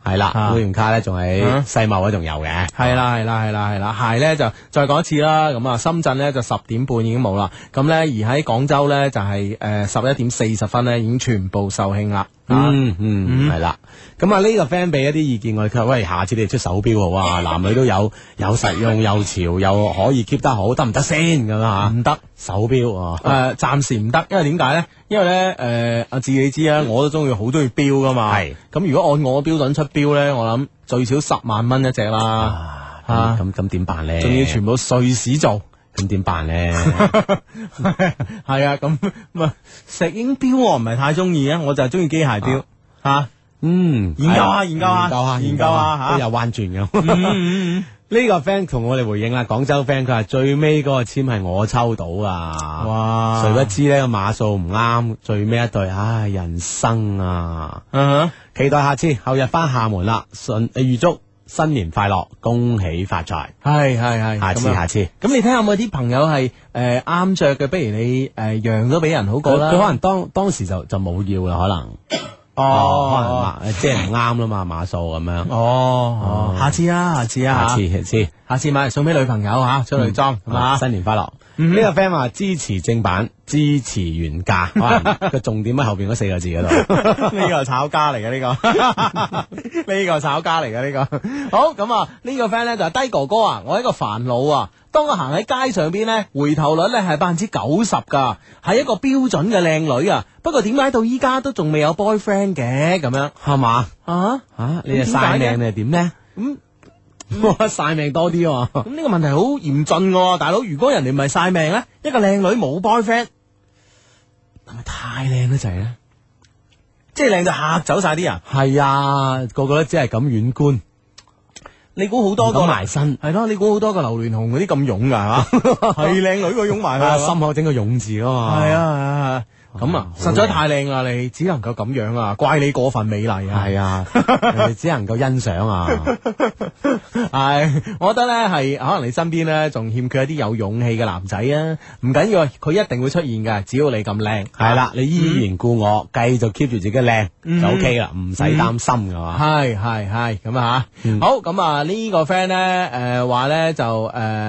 係啦， 啊會員卡咧仲喺世貿嗰仲有嘅。 係啦係啦係啦係啦，鞋咧就再講一次啦。咁啊，深圳咧就10點半已經冇啦。咁咧而喺廣州咧就係11點40分咧已經全部售罄啦。 係啦。咁啊呢個 friend 俾一啲意見我哋，佢話喂，下次你哋出手錶好啊，男女都有實用又潮又可以 keep 得好，得唔得先咁啊？ 唔得手錶啊， 暫時唔得，因為點解咧？因為咧阿志你知啊，我都好中意錶噶嘛。 係咁如果按我標準出錶咧，我諗最少10萬蚊一隻啦。 咁點辦咧？ 仲要全部瑞士做。 咁點辦咧？ 係啊，咁石英錶我唔係太中意啊，我就係中意機械錶吓。研究下研究下都有彎轉咁。呢個 friend 同我哋回應啦，廣州 friend 佢話最尾嗰個簽係我抽到啊！ 哇！ 誰不知呢個碼數唔啱，最尾一對，唉，人生啊！期待下次後日翻廈門啦，預祝新年快樂，恭喜發財。 係， 下次。 咁你睇下有冇啲朋友係啱着嘅，不如你讓咗俾人好過啦。 佢可能當時就冇要啦，可能。可能即係唔啱啦嘛，碼數咁樣。 下次買嚟送俾女朋友吓，出女裝係嘛？ 新年快樂。呢個 friend 話支持正版，支持原價，個重點喺後邊嗰4個字嗰度。 呢個係炒家嚟嘅呢個，呢個炒家嚟嘅呢個。好咁啊，呢個 friend 咧就係低哥哥啊，我一個煩惱啊。當我行喺街上邊咧，回頭率咧係90%噶，係一個標準嘅靚女啊。不過點解到依家都仲未有 boyfriend 嘅咁樣？ 係嘛？你係晒命定係點咧？我晒命多啲喎。 咁呢個問題好嚴峻喎，大佬。如果人哋唔係晒命咧，一個靚女冇 boyfriend，係咪太靚得滯咧？即係靚到嚇走晒啲人。 係啊，個個都只係咁遠觀。 你估好多個埋身係咯？你估好多個榴蓮紅嗰啲咁勇噶係嘛？係靚女個擁埋去， 心口整個勇字噶嘛？ 係啊，咁啊，實在太靚啦！你只能夠咁樣啊，怪你過分美麗啊！ 係啊，人哋只能夠欣賞啊。 係，我覺得咧係可能你身邊咧仲欠缺一啲有勇氣嘅男仔啊。唔緊要，佢一定會出現嘅，只要你咁靚。 係啦，你依然故我，繼續 keep 住自己靚就 OK 啦，唔使擔心噶嘛。 係咁啊吓。好咁啊，呢個 friend 咧話咧就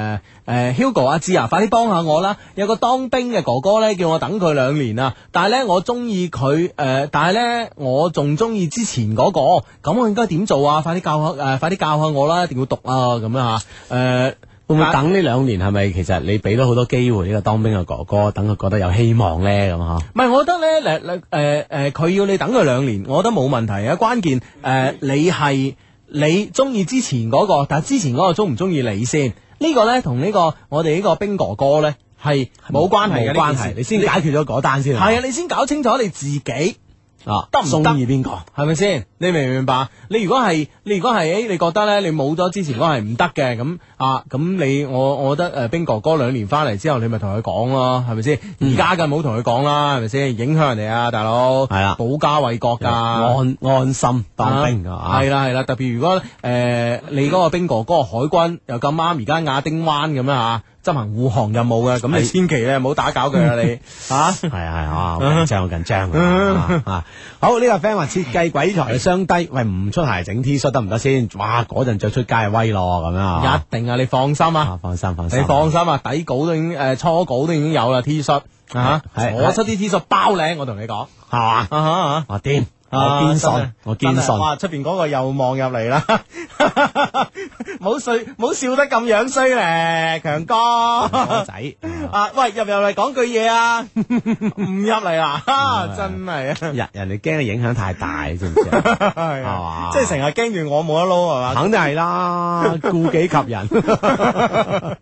Hugo 阿芝啊，快啲幫下我啦！有個當兵嘅哥哥咧叫我等佢2年啊，但係咧我中意佢但係咧我仲中意之前嗰個，咁我應該點做啊？快啲教下我啦，一定要讀啊咁樣吓。 會唔會等呢2年？係咪其實你俾咗好多機會呢個當兵嘅哥哥，等佢覺得有希望咧咁吓？ 唔係，我覺得咧佢要你等佢2年，我覺得冇問題啊。關鍵你中意之前嗰個，但係之前嗰個中唔中意你先？呢個咧同呢個我哋呢個兵哥哥咧係冇關係嘅， 冇關係。你先解決咗嗰單先。 係啊，你先搞清楚你自己得唔得？ 中意邊個？ 係咪先？你明唔明白？你如果係你覺得咧，你冇咗之前嗰個係唔得嘅，咁我覺得兵哥哥2年翻嚟之後，你咪同佢講咯，係咪先？而家嘅唔好同佢講啦，係咪先？影響人哋啊，大佬。係啦，保家衛國噶， 安心當兵噶。 係啦，特別如果你嗰個兵哥哥海軍又咁啱而家亞丁灣咁樣吓。執行護航任務嘅，咁你千祈咧唔好打攪佢啊！你係好緊張好，呢個 friend 話設計鬼才雙低，喂，唔出鞋整 T 恤得唔得先？哇，嗰陣着出街威咯咁樣。 一定啊！你放心啊！ 放心， 你放心啊！底稿都已經初稿都已經有啦 T 恤我出啲 T 恤包靚，我同你講係嘛？掂。我堅信， 哇！出邊嗰個又望入嚟啦，冇笑得咁樣衰咧，強哥仔喂，入嚟講句嘢啊，唔入嚟啦，真係啊！ 人哋驚嘅影響太大，知唔知啊？係嘛？ 即係成日驚住我冇得撈係嘛？ 肯定係啦，顧己及人。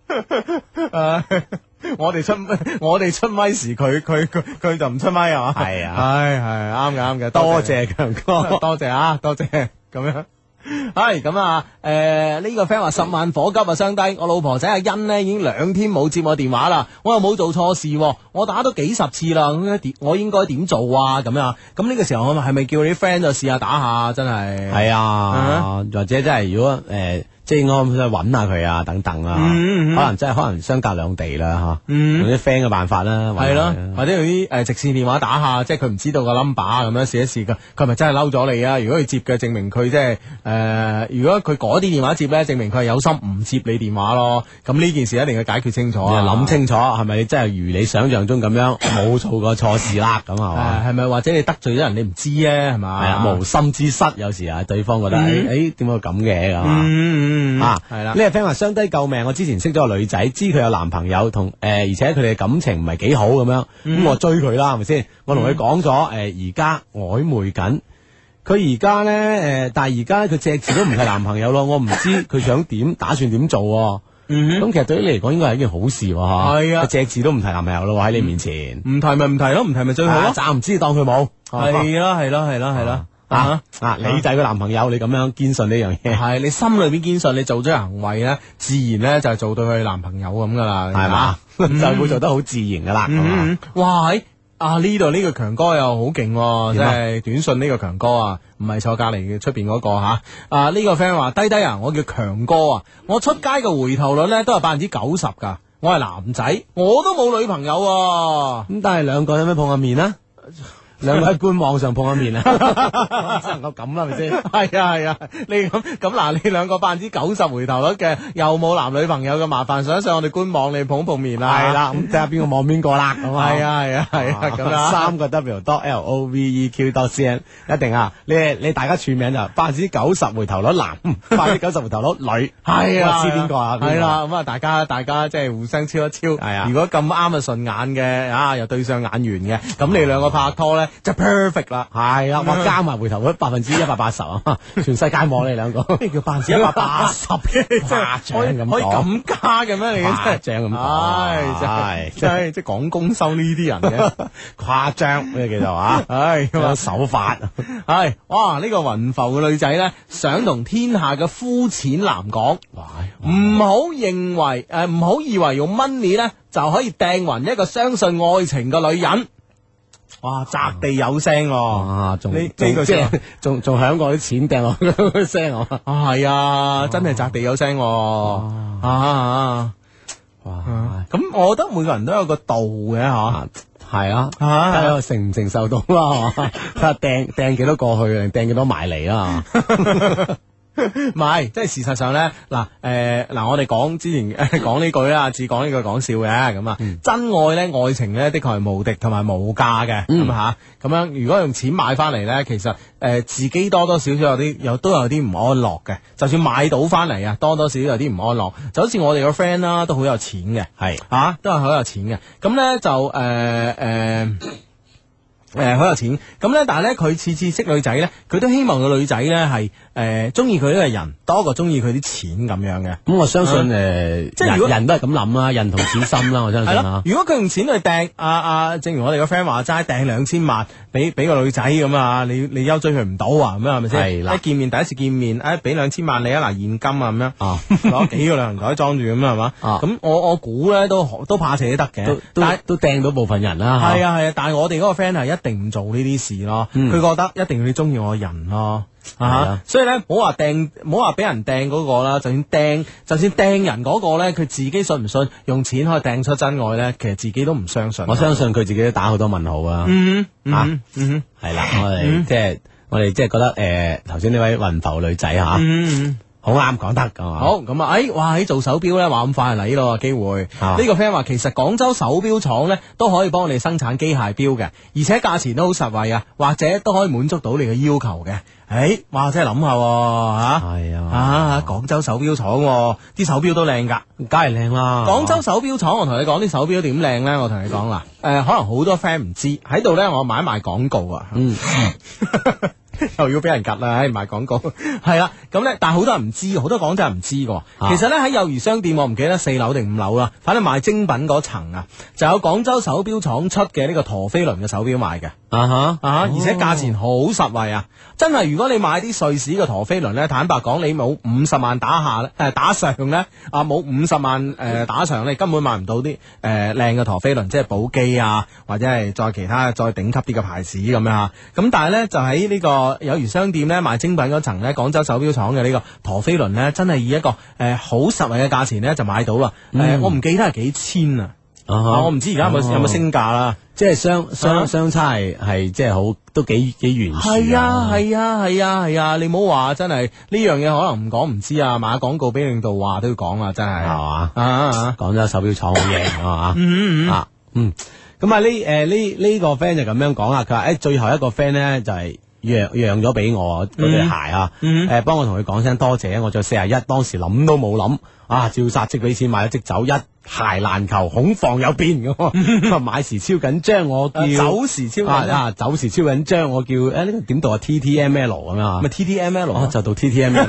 我哋出咪時，佢就唔出咪啊！係啊，係啱嘅，多謝強哥，多謝咁樣。 係咁啊！呢個 friend 話10萬火急啊，相低！我老婆仔阿欣呢已經2天冇接我電話啦，我又冇做錯事喎，我打咗幾十次啦，我應該點做啊？咁樣咁呢個時候我係咪叫你啲 friend 就試下打下？真係係啊，或者真係如果即係應該揾下佢啊，等等啊，可能相隔兩地啦嚇，用啲 friend 嘅辦法啦， 係咯，或者用啲直線電話打下，即係佢唔知道個 number 咁樣試一試佢係咪真係嬲咗你啊？如果佢接嘅，證明佢即係如果佢嗰啲電話接咧，證明佢係有心唔接你電話咯。咁呢件事一定要解決清楚啊！ 諗清楚係咪真係如你想象中咁樣冇做過錯事啦？咁係嘛？ 係咪或者你得罪咗人你唔知咧？係嘛？ 係啊，無心之失有時啊，對方覺得點解咁嘅咁啊？係啦，呢個 friend 話傷低救命，我之前識咗個女仔，知佢有男朋友同而且佢哋嘅感情唔係幾好咁樣，咁我追佢啦，係咪先？我同佢講咗而家曖昧緊，佢而家咧但係而家佢隻字都唔係男朋友咯，我唔知佢想點，打算點做。咁其實對於你嚟講應該係一件好事喎， 係啊， 隻字都唔提男朋友咯喺你面前， 唔提咪唔提咯，唔提咪最好咯， 暫唔知當佢冇， 係啦。 你就係個男朋友，你咁樣堅信呢樣嘢， 係你心裏邊堅信，你做咗行為咧，自然咧就係做到佢男朋友咁噶啦， 係嘛，就會做得好自然噶啦。 哇！呢度呢個強哥又好勁，即係短信呢個強哥啊，唔係坐隔籬嘅出邊嗰個吓。呢個 friend 話低低啊，我叫強哥啊，我出街嘅回頭率咧都係90%噶，我係男仔，我都冇女朋友啊。 咁但係兩個有咩碰下面啊？兩個喺官網上碰下面啊，只能夠咁啦，係咪先？ 係啊，你咁嗱，你兩個90%回頭率嘅，又冇男女朋友嘅，麻煩上一上我哋官網，你碰面啦。 係啦，咁睇下邊個望邊個啦，咁啊。 係啊，咁啊。 3個 W.LOVEQ.CN 一定啊！你大家串名就90%回頭率男，90%回頭率女。 係啊， 知邊個啊？ 係啦，咁啊，大家即係互相超一超。係啊，如果咁啱啊順眼嘅又對上眼緣嘅，咁你兩個拍拖咧。就 perfect 啦， 係啦，我加埋回頭率180%啊，全世界望你兩個， 咩叫180%嘅？ 誇張咁可以咁加嘅咩？你誇張咁講， 真係即係講公收呢啲人嘅誇張咩叫做啊？有手法， 哇！呢個雲浮嘅女仔咧，想同天下嘅膚淺男講，唔好認為唔好以為用 money 咧就可以掟暈一個相信愛情嘅女人。哇！擲地有聲喎， 仲響過啲錢掟落去聲喎， 係啊，真係擲地有聲喎，哇！咁我覺得每個人都有個度嘅吓， 係啊，睇下承唔承受到啦，睇下掟幾多過去，掟幾多埋嚟啦。 唔係，即係事實上咧，我哋講之前講呢句啦，只講呢句講笑嘅咁啊。真愛咧，愛情咧，的確係無敵同埋無價嘅咁吓。咁樣如果用錢買翻嚟咧，其實自己多多少少都有啲唔安樂嘅。就算買到翻嚟啊，多多少少有啲唔安樂。就好似我哋個 friend 啦，都好有錢嘅，係都係好有錢嘅。咁咧就好有錢，咁咧，但係咧，佢次次識女仔咧，佢都希望個女仔咧係中意佢呢個人多過中意佢啲錢咁樣嘅。 咁我相信即係人都係咁諗啦，人同錢心啦，我相信啦。 如果佢用錢去掟正如我哋個 friend 話齋，掟2000萬俾個女仔咁啊，你優追佢唔到啊，咁樣係咪先？係啦，第一次見面，俾2000萬你啊，嗱現金啊咁樣，攞幾個旅行袋裝住咁係嘛？咁我估咧都怕死得嘅，但係都掟到部分人啦。係啊，但係我哋嗰個 friend 係一定唔做呢啲事咯，佢覺得一定要你中意我嘅人咯，所以咧唔好話俾人掟嗰個啦，就算掟人嗰個咧，佢自己信唔信用錢可以掟出真愛咧？其實自己都唔相信。 我相信佢自己都打好多問號啊。係啦，我哋即係覺得頭先呢位雲浮女仔吓。好啱講得噶嘛？好咁啊！ 哇！喺做手錶咧，話咁快嚟咯機會。呢個 friend 話其實廣州手錶廠咧都可以幫你生產機械錶嘅，而且價錢都好實惠啊，或者都可以滿足到你嘅要求嘅。哇！真係諗下吓，係啊！廣州手錶廠啲手錶都靚噶， 梗係靚啦。 廣州手錶廠，我同你講啲手錶點靚咧，我同你講啦。可能好多 friend 唔知喺度咧，我賣一賣廣告啊。 又要俾人夾啦，賣廣告係啦。咁咧，但係好多人唔知，好多廣州人唔知㗎。其實咧喺幼兒商店，我唔記得4樓定5樓啦，反正賣精品嗰層啊，就有廣州手錶廠出嘅呢個陀飛輪嘅手錶賣嘅。而且價錢好實惠啊！真係，如果你買啲瑞士嘅陀飛輪咧，坦白講，你冇50萬打下咧，打上咧冇50萬打上咧，根本買唔到啲靚嘅陀飛輪，即係寶璣啊，或者係再其他再頂級啲嘅牌子咁樣嚇。咁但係咧，就喺呢個友誼商店咧賣精品嗰層咧，廣州手錶廠嘅呢個陀飛輪咧，真係以一個好實惠嘅價錢咧就買到啦。我唔記得係幾千啊。我唔知而家有冇升價啦， 即係相差係即係好都幾懸殊。 係啊，你唔好話真係呢樣嘢可能唔講唔知啊，買廣告俾領導話都要講啊，真係係嘛？廣州手錶廠好嘢係嘛？咁啊呢個 friend 就咁樣講啊，佢話最後一個 friend 咧就係讓咗俾我嗰對鞋啊，幫我同佢講聲多謝，我着41，當時諗都冇諗啊，照殺即俾錢買咗即走，一鞋難求，恐防有變咁。買時超緊張，我叫走時超緊走時超緊張，我叫呢個點讀啊 TTML 咁啊， 咪 TTML 就讀 TTML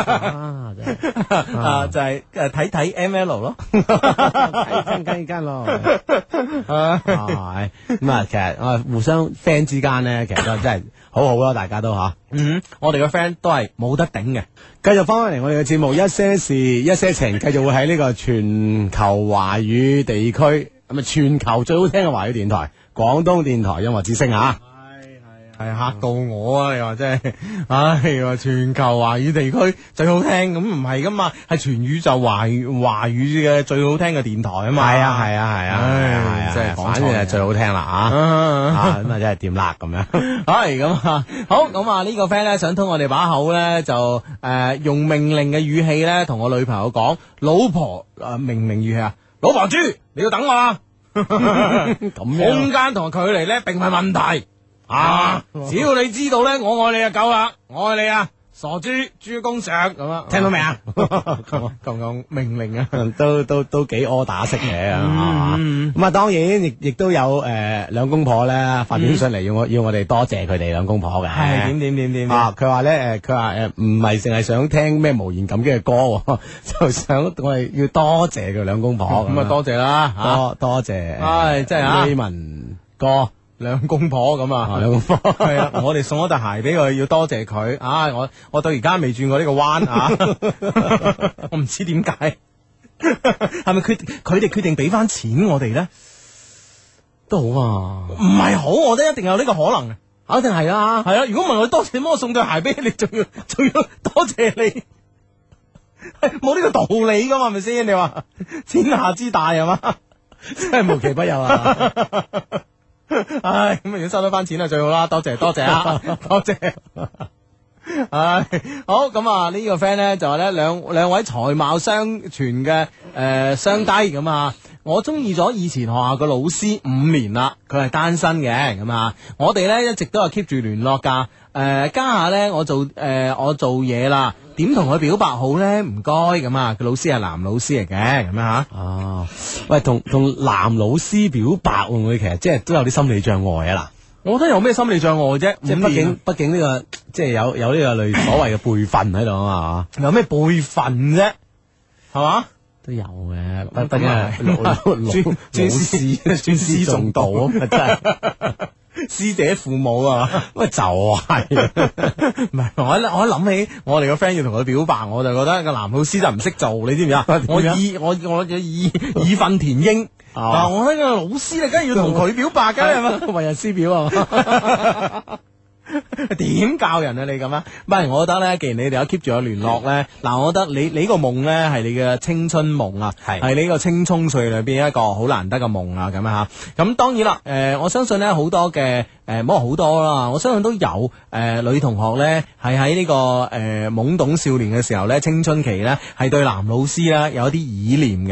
就係睇 ML 咯， 睇間咯，係咁啊，其實互相 friend 之間咧，其實都真係好好咯，大家都吓。 我哋嘅 friend 都係冇得頂嘅。 繼續翻返嚟我哋嘅節目，一些事一些情，繼續會喺呢個全球華語地區，咁啊全球最好聽嘅華語電台廣東電台音樂之聲啊！ 係嚇到我啊！你話真係，話全球華語地區最好聽，咁唔係噶嘛，係全宇宙華語嘅最好聽嘅電台啊嘛！ 係啊， 即係反正係最好聽啦啊！咁啊真係掂啦咁樣。 係咁啊，好咁啊呢個 friend 咧想通我哋把口咧就用命令嘅語氣咧同我女朋友講，老婆命語氣啊，老婆豬你要等我啊！ 咁樣空間同埋距離咧並唔係問題。只要你知道咧，我愛你就夠啦，我愛你啊，傻豬豬公上咁啊， 聽到未啊？ 咁命令啊， 都幾柯打式嘅啊！咁啊，當然亦都有兩公婆咧發短信嚟要我哋多謝佢哋兩公婆嘅。 係點啊！佢話咧佢話唔係淨係想聽咩無言感激嘅歌，就想我哋要多謝佢兩公婆。 咁啊多謝啦， 多謝， 真係啊 Raymond 哥。 兩公婆咁啊， 兩公婆係啊！我哋送咗對鞋俾佢，要多謝佢啊！我到而家未轉過呢個彎啊！我唔知點解，係咪佢哋決定俾翻錢我哋咧？ 都好啊， 唔係好，我覺得一定有呢個可能嘅， 肯定係啦。 係啊！如果問我多謝，點解我送對鞋俾你，仲要多謝你？冇呢個道理噶嘛？係咪先？你話天下之大係嘛？ 真係無奇不有啊！ 唉，咁如果收得翻錢啊最好啦，多謝啊，多謝。唉，好咁啊，呢個 friend 咧就話咧兩位才貌相傳嘅雙低咁啊，我中意咗以前學校嘅老師5年啦，佢係單身嘅咁啊，我哋咧一直都係 keep 住聯絡噶，家下咧我做嘢啦。點同佢表白好咧？唔該咁啊，個老師係男老師嚟嘅咁樣吓。 哦，喂，同男老師表白會唔會其實即係都有啲心理障礙啊？嗱， 我覺得有咩心理障礙啫？ 即係畢竟呢個即係有呢個類所謂嘅輩分喺度啊嘛。 有咩輩分啫？係嘛？ 都有嘅，畢竟係尊師重道啊嘛，真係。 師姐父母啊， 喂就係， 唔係我一諗起我哋個 friend 要同佢表白，我就覺得個男老師就唔識做，你知唔知啊？我義憤填膺啊！我呢個老師你梗係要同佢表白㗎，係嘛？ 為人師表啊！ 點教人啊？你咁啊？唔係，我覺得咧，既然你哋有 keep 住有聯絡咧，嗱，我覺得你個夢咧係你嘅青春夢啊，係你個青蔥歲裏邊一個好難得嘅夢啊，咁啊吓。咁當然啦，我相信咧好多嘅唔好話好多啦，我相信都有女同學咧係喺呢個懵懂少年嘅時候咧，青春期咧係對男老師咧有一啲依戀嘅。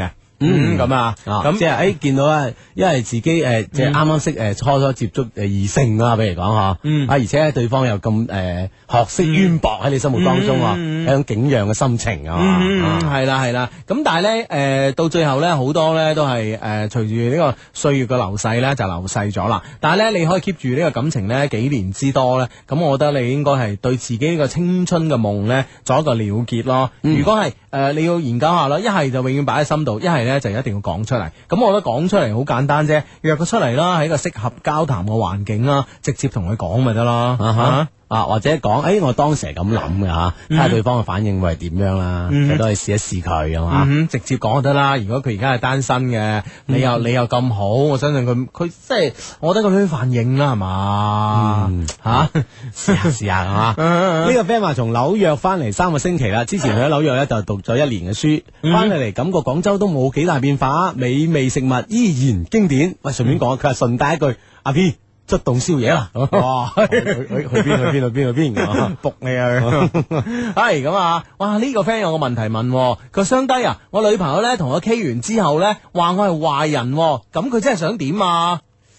咁啊， 咁即係見到咧，因為自己即係啱啱識初接觸異性啦，比如講嗬，而且對方又咁學識淵博喺你心目當中一種景仰嘅心情啊嘛， 係啦，咁但係咧到最後咧好多咧都係隨住呢個歲月嘅流逝咧就流逝咗啦，但係咧你可以 keep 住呢個感情咧幾年之多咧，咁我覺得你應該係對自己呢個青春嘅夢咧做一個了結咯。如果係你要研究下啦，一係就永遠擺喺心度，一係咧就一定要講出嚟。咁我覺得講出嚟好簡單啫，約佢出嚟啦，喺一個適合交談嘅環境啦，直接同佢講咪得咯。 或者講，我當時係咁諗嘅嚇，睇下對方嘅反應會係點樣啦，其實都係試一試佢啊嘛。 直接講就得啦。如果佢而家係單身嘅，你又咁好，我相信佢即係，我覺得佢都反應啦，係嘛試下係嘛。呢個 friend 話從紐約翻嚟3個星期啦，之前去咗紐約咧就讀咗1年嘅書，翻嚟感覺廣州都冇幾大變化，美味食物依然經典。喂，順便講，佢話順帶一句，阿 P。出動宵夜啦！哇，去邊？ 仆你啊！係咁啊！哇，呢個 friend 有個問題問，佢話雙低啊，我女朋友咧同我 K 完之後咧，話我係壞人，咁佢真係想點啊？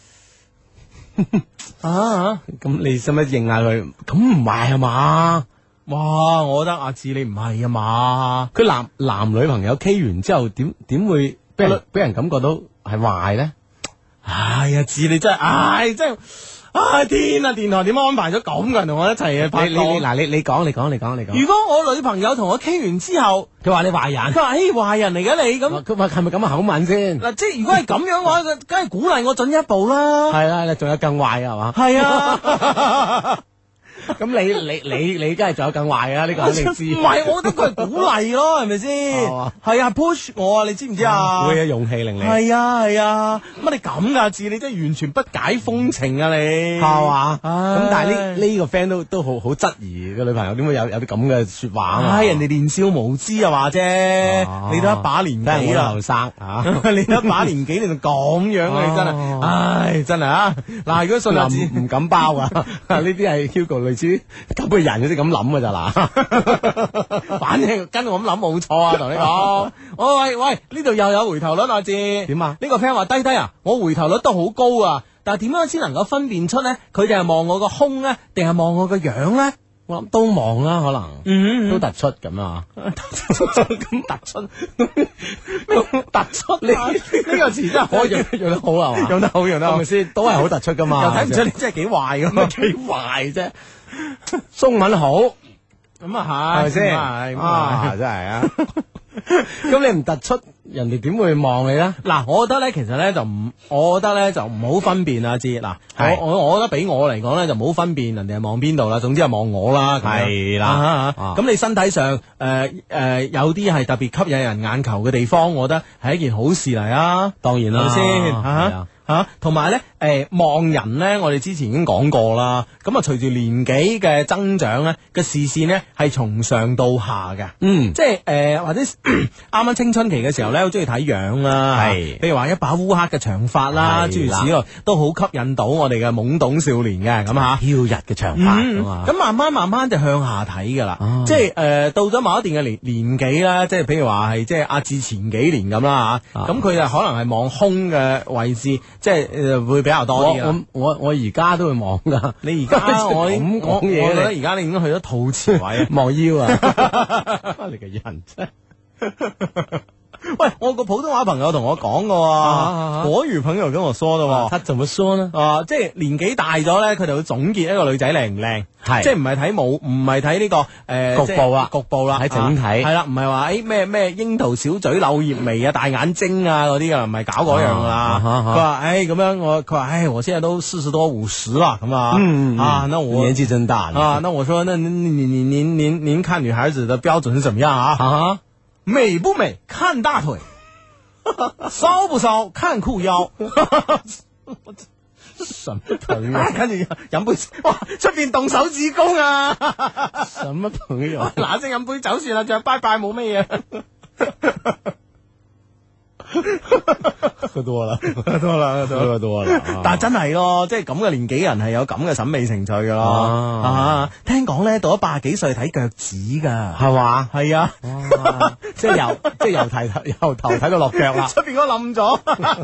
咁你使唔使認下佢？咁唔係啊嘛？ 哇，我覺得阿志你唔係啊嘛？ 佢男女朋友 K 完之後，點會俾人感覺到係壞咧？ 哎呀，志你真係，真係，天啊！電台點安排咗咁嘅人同我一齊拍檔？ 你講。 如果我女朋友同我傾完之後， 佢話你壞人， 佢話壞人嚟嘅你咁， 佢話係咪咁嘅口吻先？ 嗱，即係如果係咁樣嘅話，梗係鼓勵我進一步啦。 係啦，仲有更壞係嘛？ 係啊。 咁你梗係仲有更壞啊？呢個肯定知。 唔係，我覺得佢係鼓勵咯，係咪先？係啊 ，push 我啊，你知唔知啊？ 會有勇氣令你。 係啊，乜你咁噶字？你真係完全不解風情啊！你係嘛？咁但係呢個 friend 都好質疑個女朋友點會有啲咁嘅說話啊？ 人哋年少無知啊話啫，你都一把年紀啦， 後生啊， 你都一把年紀，你就咁樣啊！你真係，唉，真係啊！嗱，如果信阿志唔敢包啊，呢啲係 Hugo 類似咁嘅人，先咁諗噶咋嗱？ 反正跟我咁諗冇錯啊，同你講。喂，呢度又有回頭率啊，志點啊？ 呢個 friend 話低啊，我回頭率都好高啊，但係點樣先能夠分辨出呢？佢哋係望我個胸咧，定係望我個樣咧？ 我諗都望啦，可能都突出咁啊， 咁突出，呢個詞真係可以用得好係嘛？ 用得好， 係咪先？都係好突出噶嘛？ 又睇唔出你真係幾壞咁啊？ 幾壞啫？中文好咁啊係咪先？ 真係啊！咁你唔突出，人哋點會望你咧？ 嗱，我覺得咧，其實咧就唔好分辨啊，知嗱，我覺得俾我嚟講咧就唔好分辨人哋係望邊度啦，總之係望我啦， 係啦。 咁你身體上有啲係特別吸引人眼球嘅地方，我覺得係一件好事嚟啊！ 當然啦， 係咪先？同埋咧，望人咧，我哋之前已經講過啦。咁啊，隨住年紀嘅增長咧，嘅視線咧係從上到下嘅。即係或者啱啱青春期嘅時候咧，好中意睇樣啦。係，譬如話一把烏黑嘅長髮啦，諸如此類，都好吸引到我哋嘅懵懂少年嘅。咁嚇， 飄逸嘅長髮咁慢慢就向下睇噶啦。即係到咗某一段嘅年紀啦，即係譬如話係即係阿志前幾年咁啦嚇。咁佢就可能係望胸嘅位置。即係會比較多啲啦。 我而家都會望噶。 你而家我咁講嘢， 我覺得而家你已經去咗肚臍位望腰啊！你個人真。 喂，我個普通話朋友同我講嘅，國語朋友跟我說的， 他怎麼說呢？ 即係年紀大咗咧，佢哋會總結一個女仔靚唔靚，係即係唔係睇唔係睇呢個局部啦， 睇整體係啦，唔係話咩櫻桃小嘴、柳葉眉啊、大眼睛啊嗰啲噶，唔係搞嗰樣噶啦。佢話咁樣佢話我現在都40多50啦，咁啊，那我年紀真大啊，那我說那您看女孩子的標準是怎麼樣啊？美不美看大腿，騷不騷看褲腰。 什麼朋友？ 跟住飲杯，哇！出邊動手指公啊！ 什麼朋友？ 嗱聲飲杯酒算啦，仲有拜拜冇乜嘢。 多啦， 多啦， 多啦。 但係真係咯，即係咁嘅年紀人係有咁嘅審美情趣噶咯。聽講咧到咗80幾歲睇腳趾噶， 係嘛？ 係啊， 即係由頭睇到落腳啦。 出邊嗰個冧咗，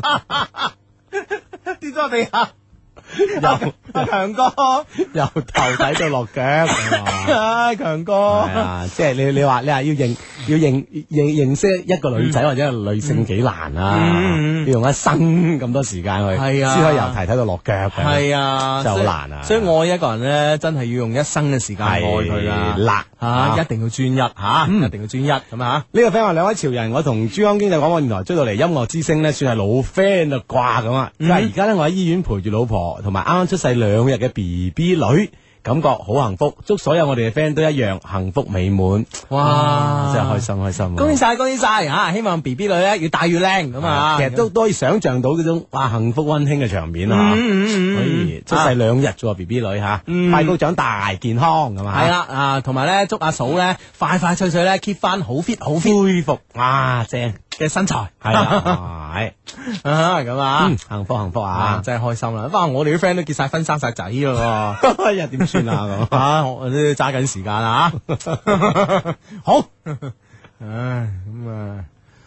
跌咗落地下。阿強哥由頭睇到落腳， 唉，強哥， 係啊，即係你話要認識一個女仔或者係女性幾難啊，要用一生咁多時間去， 係啊， 先可以由頭睇到落腳嘅， 係啊， 真係好難啊。 所以愛一個人咧，真係要用一生嘅時間愛佢啦，一定要專一吓，一定要專一咁啊！ 呢個 friend 話兩位潮人，我同珠江經濟廣播電台追到嚟音樂之聲咧，算係老 friend 啦啩咁啊！但係而家咧，我喺醫院陪住老婆同埋啱啱出世2日嘅 BB 女，感覺好幸福。祝所有我哋嘅 friend 都一樣幸福美滿。哇！真係開心！ 恭喜晒吓！希望 BB 女咧越大越靚咁啊！ 其實都可以想象到嗰種幸福溫馨嘅場面啊！可以出世2日啫，BB 女吓，快高長大健康咁啊！ 係啦同埋咧祝阿嫂咧快快脆脆咧 keep 翻好 fit 恢復正嘅身材， 係啦，係咁啊， 幸福啊， 真係開心啦！不過我哋啲 friend 都結晒婚生晒仔咯， 又點算啊？ 咁我都揸緊時間啊！好，咁啊。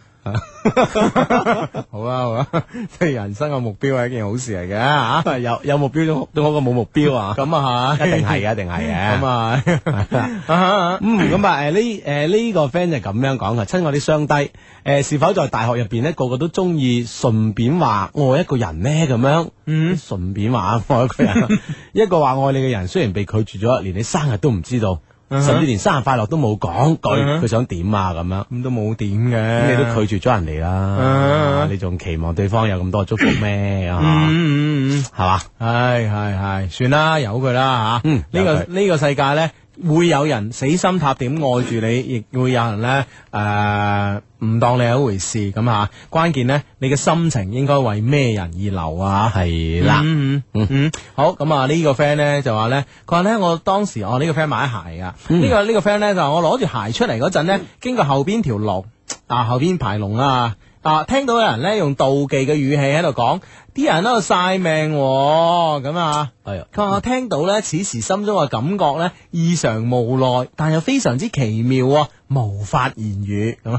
好啦，即係人生嘅目標係一件好事嚟嘅吓， 有目標都好過冇目標啊！ 咁啊係， 一定係嘅， 咁啊， 咁啊呢個 friend 就咁樣講嘅，親愛啲雙低，是否在大學入邊呢個個都中意順便話愛一個人呢？咁樣，順便話愛一個人，一個話愛你嘅人，雖然被拒絕咗，連你生日都唔知道。甚至連生日快樂都冇講句，佢想點啊咁樣， 咁都冇點嘅， 咁你都拒絕咗人哋啦，你仲期望對方有咁多祝福咩？係嘛？ 係，算啦，由佢啦吓。呢個世界咧，會有人死心塌點愛住你，亦會有人咧唔當你係一回事咁吓。關鍵咧，你嘅心情應該為咩人而流啊？ 係啦， 好咁啊！呢個 friend 咧就話咧，佢話咧我當時呢個 friend 買鞋啊，呢個 friend 咧就話我攞住鞋出嚟嗰陣咧，經過後邊條龍後邊排龍啊，聽到有人咧用妒忌嘅語氣喺度講，啲人喺度晒命咁啊，佢話我聽到咧，此時心中嘅感覺咧異常無奈，但又非常之奇妙，無法言語咁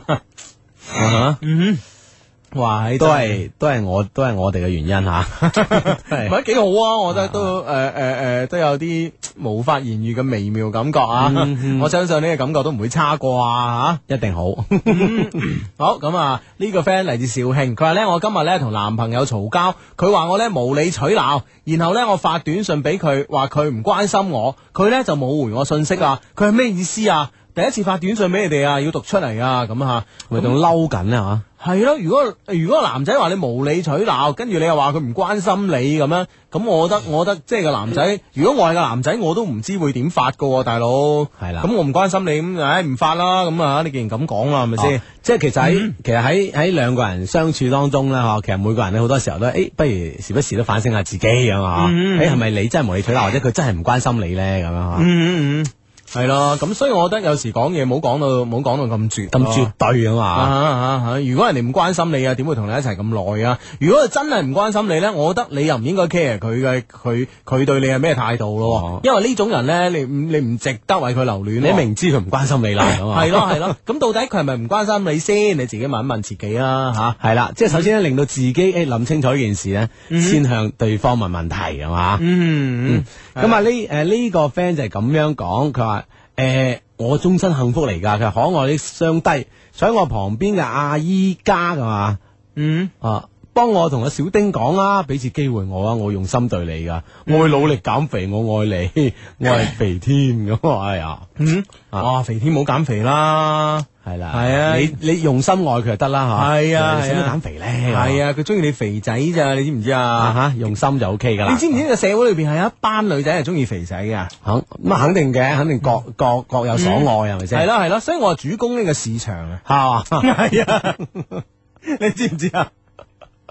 哇！都係我哋嘅原因吓，唔係幾好啊！我覺得都都有啲無法言語嘅微妙感覺啊！我相信呢個感覺都唔會差過啊！ 一定好。 好咁啊！呢個 friend 嚟自肇慶，佢話咧我今日咧同男朋友嘈交，佢話我咧無理取鬧，然後咧我發短信俾佢，話佢唔關心我，佢咧就冇回我信息啊！佢係咩意思啊？第一次發短信俾你哋啊，要讀出嚟啊！咁吓， 咪仲嬲緊啊？ 係咯，如果男仔話你無理取鬧，跟住你又話佢唔關心你咁樣，咁我覺得即係個男仔，如果我係個男仔，我都唔知會點發噶，大佬。係啦，咁我唔關心你，咁唔發啦，咁啊，你既然咁講啦，係咪先？ 即係其實喺兩個人相處當中咧，其實每個人咧好多時候都不如時不時都反省下自己咁啊，係咪你真係無理取鬧，或者佢真係唔關心你咧咁樣係咯，咁所以我覺得有時講嘢唔好講到咁絕對啊嘛。 如果人哋唔關心你啊，點會同你一齊咁耐啊？如果佢真係唔關心你咧，我覺得你又唔應該 care 佢對你係咩態度咯。因為呢種人咧，你唔值得為佢留戀。 你明知佢唔關心你啦， 係咯。咁到底佢係咪唔關心你先？你自己問一問自己啦，吓。 係啦，即係首先咧，令到自己諗清楚呢件事咧，先向對方問問題係嘛。咁啊呢個 friend 就係咁樣講，佢話。我終身幸福嚟噶，佢可愛啲雙低，坐喺我旁邊嘅阿姨家噶嘛，幫我同阿小丁講啦，俾次機會我啊，我用心對你噶，我會努力減肥，我愛你，我係肥添咁，哎呀， 哇，肥添冇減肥啦， 係啦，係啊，你用心愛佢就得啦吓， 係啊， 使乜減肥咧？ 係啊，佢中意你肥仔咋，你知唔知啊？ 用心就 OK 噶啦。 你知唔知呢個社會裏邊係有一班女仔係中意肥仔噶？ 咁肯定嘅，肯定各有所愛係咪先？ 係咯，所以我係主攻呢個市場啊，係嘛？係啊，你知唔知啊？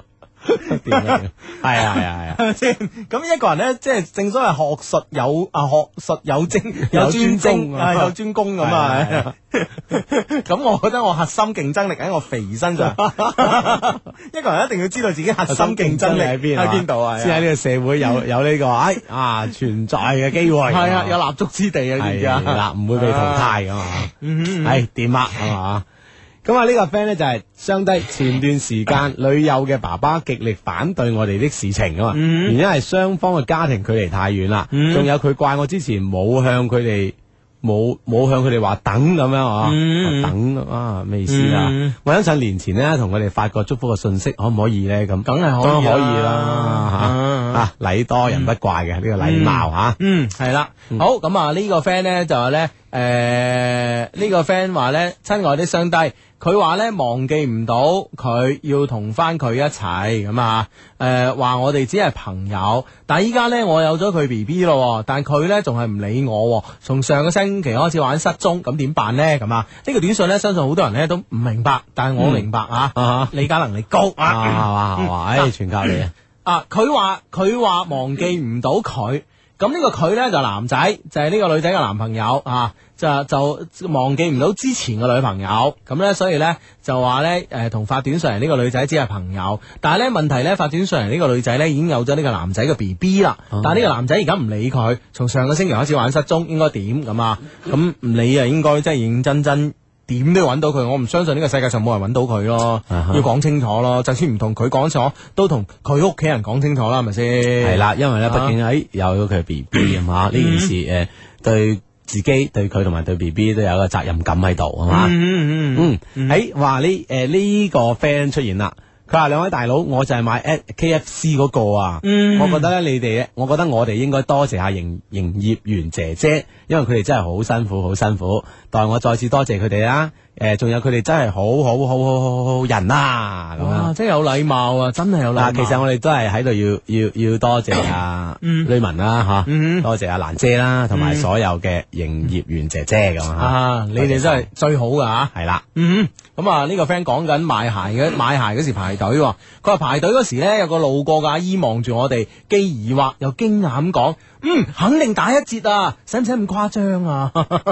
掂啊係啊係啊係啊， 先咁一個人咧，即係正所謂學術有精有專精有專攻咁啊。咁我覺得我核心競爭力喺我肥身上，一個人一定要知道自己核心競爭力喺邊喺邊度啊， 先喺呢個社會有呢個存在嘅機會， 係啊，有立足之地啊，知唔知啊？ 係啦，唔會被淘汰噶嘛，係掂啊，係嘛。咁啊，呢個 friend 咧就係相低前段時間女友嘅爸爸極力反對我哋的事情啊嘛，原因係雙方嘅家庭距離太遠啦，仲有佢怪我之前冇向佢哋話等咁樣啊，等啊咩意思啊？我相信年前咧同佢哋發個祝福嘅信息，可唔可以咧？咁梗係可以啦，吓禮多人不怪嘅呢個禮貌吓， 係啦，好咁啊呢個 friend 咧就係咧，呢個 friend 話咧，親愛的雙低。佢話咧忘記唔到佢要同翻佢一齊咁啊，話我哋只係朋友，但係依家咧我有咗佢 BB 咯，但佢咧仲係唔理我，從上個星期開始玩失蹤，咁點辦呢？咁啊，呢個短信咧相信好多人咧都唔明白，但係我明白啊，理解能力高啊， 係嘛，全靠你啊！佢話忘記唔到佢。咁呢個佢咧就男仔，就係呢個女仔嘅男朋友啊，就忘記唔到之前嘅女朋友，咁咧所以咧就話咧同發短信嚟呢個女仔只係朋友，但係咧問題咧發短信嚟呢個女仔咧已經有咗呢個男仔嘅 BB 啦，但係呢個男仔而家唔理佢，從上個星期開始玩失蹤，應該點咁啊？咁唔理啊，應該真係認真真。點都要揾到佢，我唔相信呢個世界上冇人揾到佢咯，要講清楚咯，就算唔同佢講清楚，都同佢屋企人講清楚啦，係咪先？係啦，因為咧，畢竟有佢 B B 啊嘛，呢件事對自己、對佢同埋對 B B 都有一個責任感喺度啊嘛。話呢個 friend 出現啦。佢話兩位大佬，我就係買 KFC 嗰個啊，我覺得咧我覺得我哋應該多謝下營業員姐姐，因為佢哋真係好辛苦，代我再次多謝佢哋啦。仲有佢哋真係好人啊！咁哇，真係有禮貌啊，真係有禮貌。 其實我哋都係喺度要多謝阿呂文啦，吓，多謝阿蘭姐啦，同埋所有嘅營業員姐姐咁啊，你哋真係最好噶吓， 係啦。 咁啊呢個 friend 講緊買鞋嗰時排隊，佢話排隊嗰時咧有個路過嘅阿姨望住我哋，既疑惑又驚訝咁講，肯定打一折啊，使唔使咁誇張啊？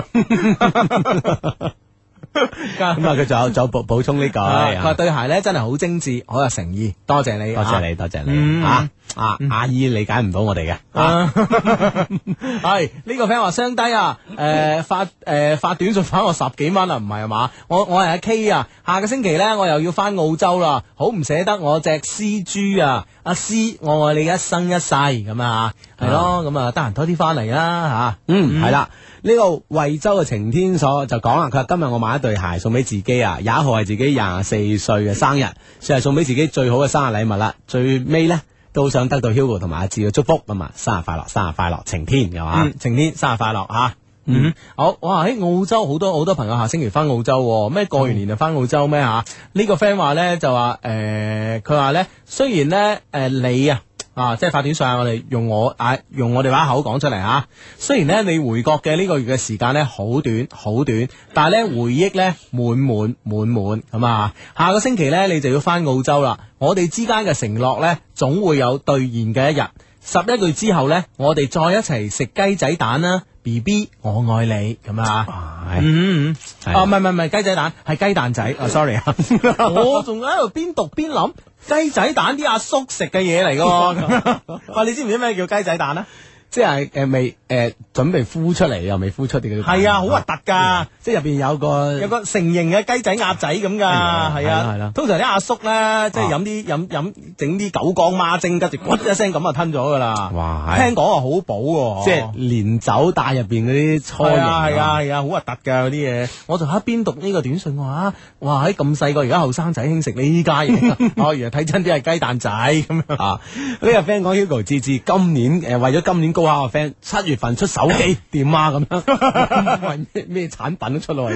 咁啊，佢就補充呢句， 佢話對鞋咧真係好精緻，好有誠意，多謝你， 多謝你阿姨理解唔到我哋嘅， 係呢個 friend 話雙低啊，發短信返我10幾蚊啊，唔係嘛？我係阿 K 啊，下個星期咧我又要翻澳洲啦，好唔捨得我隻絲豬啊，阿詩，我愛你一生一世咁啊，係咯，咁啊得閒多啲翻嚟啦吓， 係啦。呢個惠州嘅晴天所就講啦，佢話今日我買一對鞋送俾自己啊，21號係自己24歲嘅生日，算係送俾自己最好嘅生日禮物啦。最尾呢，都想得到 Hugo 同埋阿志嘅祝福咁啊，生日快樂，晴天係嘛？ 晴天生日快樂吓。好，哇！喺澳洲好多朋友下星期翻澳洲，咩過完年就翻澳洲咩吓？呢個 friend 話咧就話佢話咧雖然咧你即係發短信，我哋用我哋把口講出嚟吓。雖然咧你回國嘅呢個月嘅時間咧好短，但係咧回憶咧滿咁啊！下個星期咧你就要翻澳洲啦。我哋之間嘅承諾咧總會有兌現嘅一日。11個月之後咧，我哋再一齊食雞仔蛋啦 ，BB 我愛你咁啊！唔係雞仔蛋，係雞蛋仔。sorry 啊，我仲喺度邊讀邊諗雞仔蛋啲阿叔食嘅嘢嚟噶。哇，你知唔知咩叫雞仔蛋啊？ 即係未準備孵出嚟又未孵出啲嘅， 係啊，好核突噶！ 即係入邊有個成形嘅雞仔鴨仔咁噶，係啊，通常啲阿叔咧，即係飲整啲九江孖精，跟住咕一聲咁就吞咗噶啦。哇！聽講話好補， 即係連酒帶入邊嗰啲初型， 係啊，好核突噶嗰啲嘢。我就喺邊讀呢個短信話，哇！喺咁細個而家後生仔興食呢家嘢，哦，原來睇真啲係雞蛋仔咁樣啊！ 呢個 friend 講 Hugo 志今年為咗今年高考嘅 friend 7月份出手機點啊咁樣，咩產品都出嚟，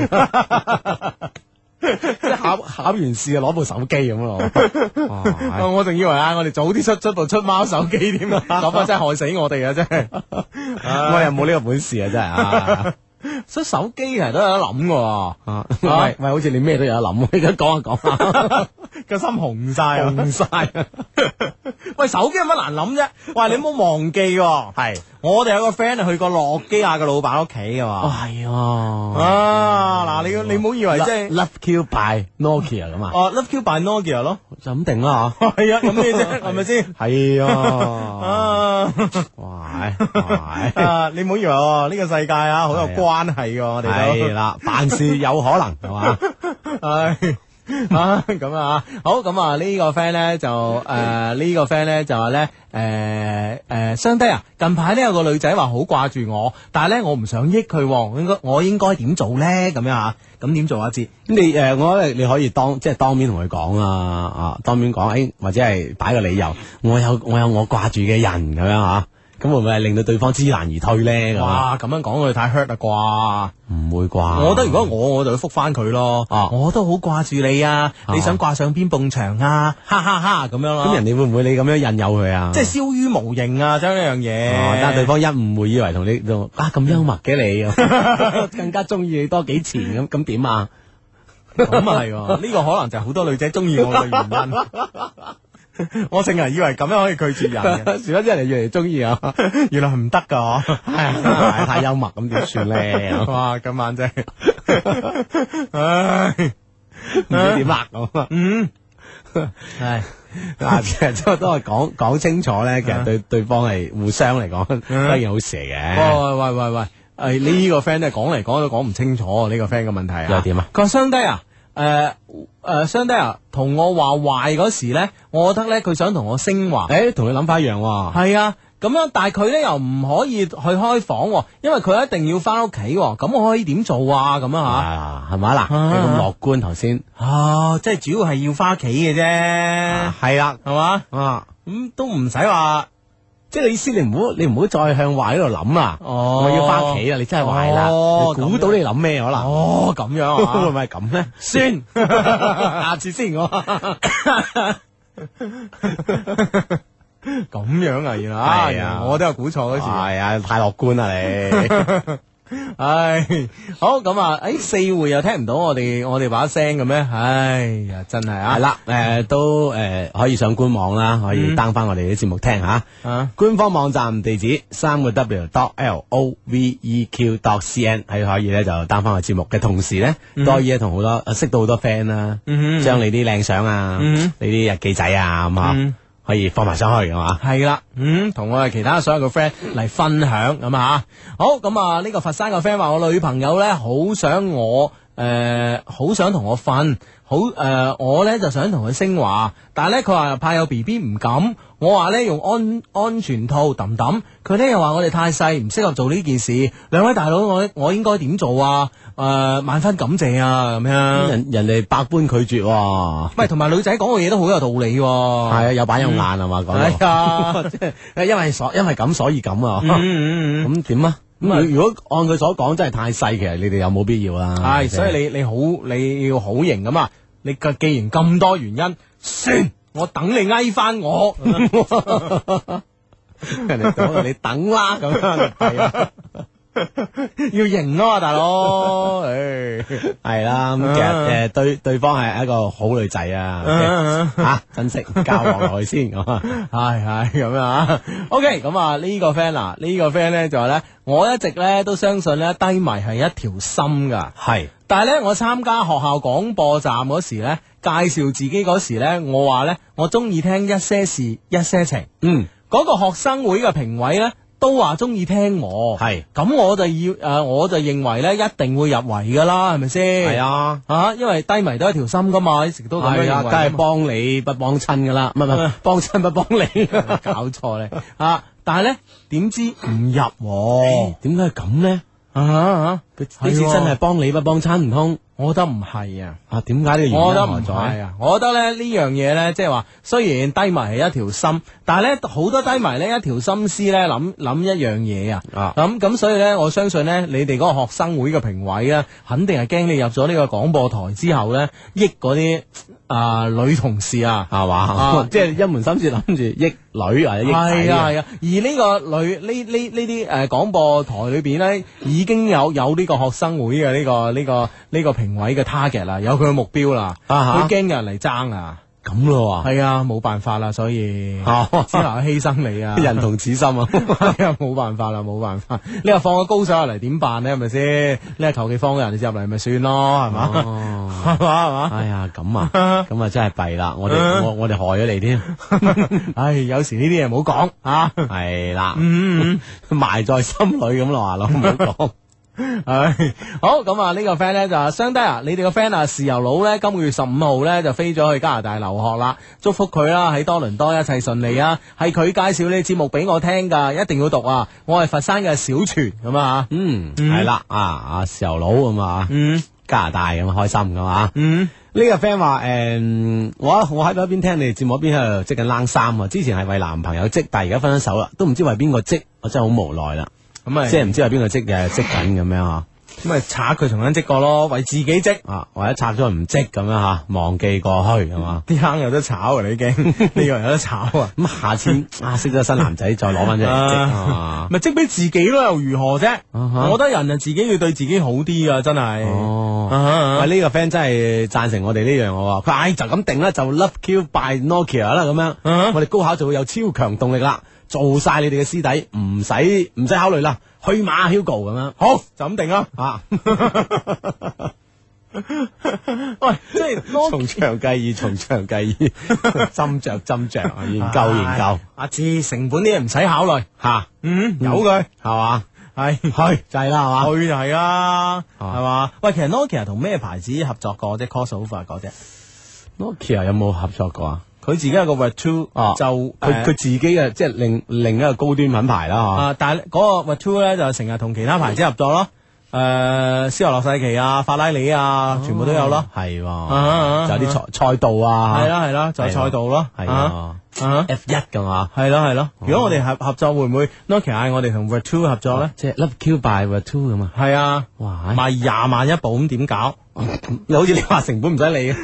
即係考完試就攞部手機咁咯。 我仲以為我哋早啲出部出貓手機添啊，咁啊真係害死我哋啊真係， 我又冇呢個本事啊真係啊。 所以手機其實都有得諗嘅啊，喂喂，好似你咩都有得諗，而家講下講下， 個心紅晒啊！ 紅晒， 喂，手機有乜難諗啫？喂，你唔好忘記喎， 係我哋有個 friend 去過諾基亞嘅老闆屋企噶嘛。 係啊， 啊，嗱，你唔好以為即係 Love Q by Nokia 咁啊， 哦，Love Q by Nokia 咯， 就咁定啦吓， 係啊，咁咩啫？係咪先？ 係啊， 啊， 哇，哇， 啊，你唔好以為喎，呢個世界啊，好有關係嘅，我哋都係啦，凡事有可能係嘛， 唉。啊咁啊，好咁啊呢個 friend 咧就呢個 friend 咧就話咧相低啊，近排咧有個女仔話好掛住我，但係咧我唔想益佢，我應該點做咧？咁樣啊，咁點做啊？志， 咁你我覺得你可以即係當面同佢講啊，當面講，或者係擺個理由，我有我掛住嘅人咁樣吓。咁會唔會係令到對方知難而退咧？ 哇！咁樣講佢太 hurt 啦啩？ 唔會啩？ 我覺得如果我就會覆翻佢咯。我都好掛住你啊！你想掛上邊埲牆啊？哈哈哈咁樣咯。 咁人哋會唔會你咁樣引誘佢啊？ 即係燒於無形啊！將呢樣嘢。 但係對方一誤會以為同你咁幽默嘅你，更加中意你多幾錢咁點啊？ 咁啊係，呢個可能就係好多女仔中意我嘅原因。我成日以為咁樣可以拒絕人嘅， 殊不知人哋越嚟越中意啊！ 原來係唔得噶， 係太幽默咁點算咧？ 哇！今晚真係，唉， 唔知點啦咁啊！ 係嗱，其實都係講清楚咧，其實對方係互相嚟講都係件好事嚟嘅。 喂，呢個 friend 咧講嚟講都講唔清楚呢個 friend 嘅問題啊！ 又點啊？ 佢話相低啊！相低啊，同我話壞嗰時咧，我覺得咧佢想同我升華。 同你諗法一樣喎。 係啊，咁樣，但係佢咧又唔可以去開房，因為佢一定要翻屋企。咁我可以點做啊？咁啊吓，係咪嗱？你咁樂觀頭先。 即係主要係要翻屋企嘅啫。 係啦， 係嘛？咁都唔使話。 即係你意思，你唔好再向壞嗰度諗啊！我要翻屋企啦，你真係壞啦！估到你諗咩可能？ 咁樣啊？ 會唔會係咁咧？算，下次先我。 咁樣啊？原來係啊！我都有估錯嗰時。 係啊，太樂觀啦你。 唉，好咁啊！四會又聽唔到我哋把聲嘅咩？唉呀，真係啊！ 係啦，都可以上官網啦，可以 down 翻我哋啲節目聽吓。官方網站地址3w.loveq.cn 係可以咧就 down 翻個節目嘅同時咧，都可以同好多識到好多 friend 啦，將你啲靚相啊，你啲日記仔啊咁啊。可以放埋上去係嘛？ 係啦，同我哋其他所有嘅 friend 嚟分享咁啊！好咁啊，呢個佛山嘅 friend 話我女朋友咧好想同我瞓，我咧就想同佢升華，但係咧佢話怕有 BB 唔敢，我話咧用安全套揼揼，佢咧又話我哋太細唔適合做呢件事，兩位大佬我應該點做啊？萬分感謝啊！咁樣人哋百般拒絕， 唔係同埋女仔講嘅嘢都好有道理，係啊，有板有眼係嘛講， 係啊，即係因為咁所以咁啊，咁點啊？咁如果按佢所講真係太細，其實你哋有冇必要啦？ 係，所以你要好型咁啊！你既然咁多原因，算我等你嗌翻我， 人哋講你等啦咁樣，係啊。 要型啊嘛，大佬， 係啦，咁其實對方係一個好女仔啊，吓珍惜交往落去先，係咁樣啊。OK，咁啊呢個 friend 啊，呢個 friend 咧就話咧，我一直咧都相信咧低迷係一條心噶，係，但係咧我參加學校廣播站嗰時咧，介紹自己嗰時咧，我話咧我中意聽一些事一些情，嗰個學生會嘅評委咧。都話中意聽我，係咁我就認為咧一定會入圍噶啦，係咪先？係啊，因為低迷都係條心噶嘛，一直都咁樣認為， 梗係幫你不幫親噶啦，唔係幫親不幫你， 搞錯咧但係咧點知唔入， 點解係咁咧？ 佢呢次真係幫你不幫親，唔通？ 我覺得唔係啊。 啊，點解呢個原因我覺得唔何在係啊，我覺得咧呢樣嘢咧，即係話雖然低迷係一條心，但係咧好多低迷咧一條心思咧諗一樣嘢啊，咁所以咧我相信咧你哋嗰個學生會嘅評委咧，肯定係驚你入咗呢個廣播台之後咧，益嗰啲女同事啊， 係嘛？即係一門心思諗住益女或者益仔係啊，而呢個女呢啲廣播台裏邊咧，已經有呢個學生會嘅呢個評委嘅 target 啦，有佢嘅目標啦，佢驚有人嚟爭啊！ 咁咯喎， 係啊，冇辦法啦，所以只能犧牲你啊， 人同此心啊， 係啊，冇辦法啦，冇辦法。你話放個高手入嚟點辦呢？係咪先？你係求其放個人入嚟咪算咯，係嘛？係嘛？ 哎呀，咁啊，咁啊真係弊啦！我哋害咗你添。 唉，有時呢啲嘢唔好講啊。 係啦，埋在心裏咁咯，話咯，唔好講。 唉，好咁啊！呢個 friend 咧就話相低啊，你哋個 friend 啊，豉油佬咧今個月15號咧就飛咗去加拿大留學啦，祝福佢啦，喺多倫多一切順利啊！係佢介紹呢節目俾我聽噶，一定要讀啊！我係佛山嘅小泉咁啊， 係啦，豉油佬咁啊，加拿大咁開心噶嘛，呢個 friend 話我喺度一邊聽你哋節目一邊喺度織緊冷衫啊！之前係為男朋友織，但係而家分咗手啦，都唔知為邊個織，我真係好無奈啦。咁啊，即係唔知係邊個織嘅，織緊咁樣吓， 咁咪拆佢重新織過咯，為自己織啊，或者拆咗唔織咁樣吓，忘記過去係嘛？ 啲坑有得炒啊，你已經呢個有得炒啊！ 咁下次識咗新男仔再攞翻出嚟織， 咪織俾自己咯，又如何啫？我覺得人啊，自己要對自己好啲啊，真係。 喂，呢個 friend 真係贊成我哋呢樣喎，佢話就咁定啦，就 Love Q by Nokia 啦咁樣，我哋高考就會有超強動力啦。做晒你哋嘅師弟，唔使考慮啦，去馬 Hugo 咁樣， 好就咁定啦啊！ 喂，即係從長計議，從長計議，斟酌啊，研究。 阿志成本啲嘢唔使考慮吓， 有佢係嘛， 係去就係啦，係嘛， 去就係啦，係嘛。喂，其實 Nokia 同咩牌子合作過啫？Crossover 嗰隻 Nokia 有冇合作過啊？ 佢自己有個 Virtu，就佢自己嘅即係另一個高端品牌啦， 但係嗰個 Virtu 咧就成日同其他牌子合作咯，斯洛世奇啊、法拉利啊，全部都有咯， 係，就有啲賽道啊， 係啦，就係賽道咯， 係F1噶嘛， 係咯。如果我哋合作會唔會 Nokia 嗌我哋同 Virtu 合作咧？ 即係 Love Q by Virtu 咁啊？ 係啊， 哇， 賣20萬一部咁點搞？ 你好似你話成本唔使理，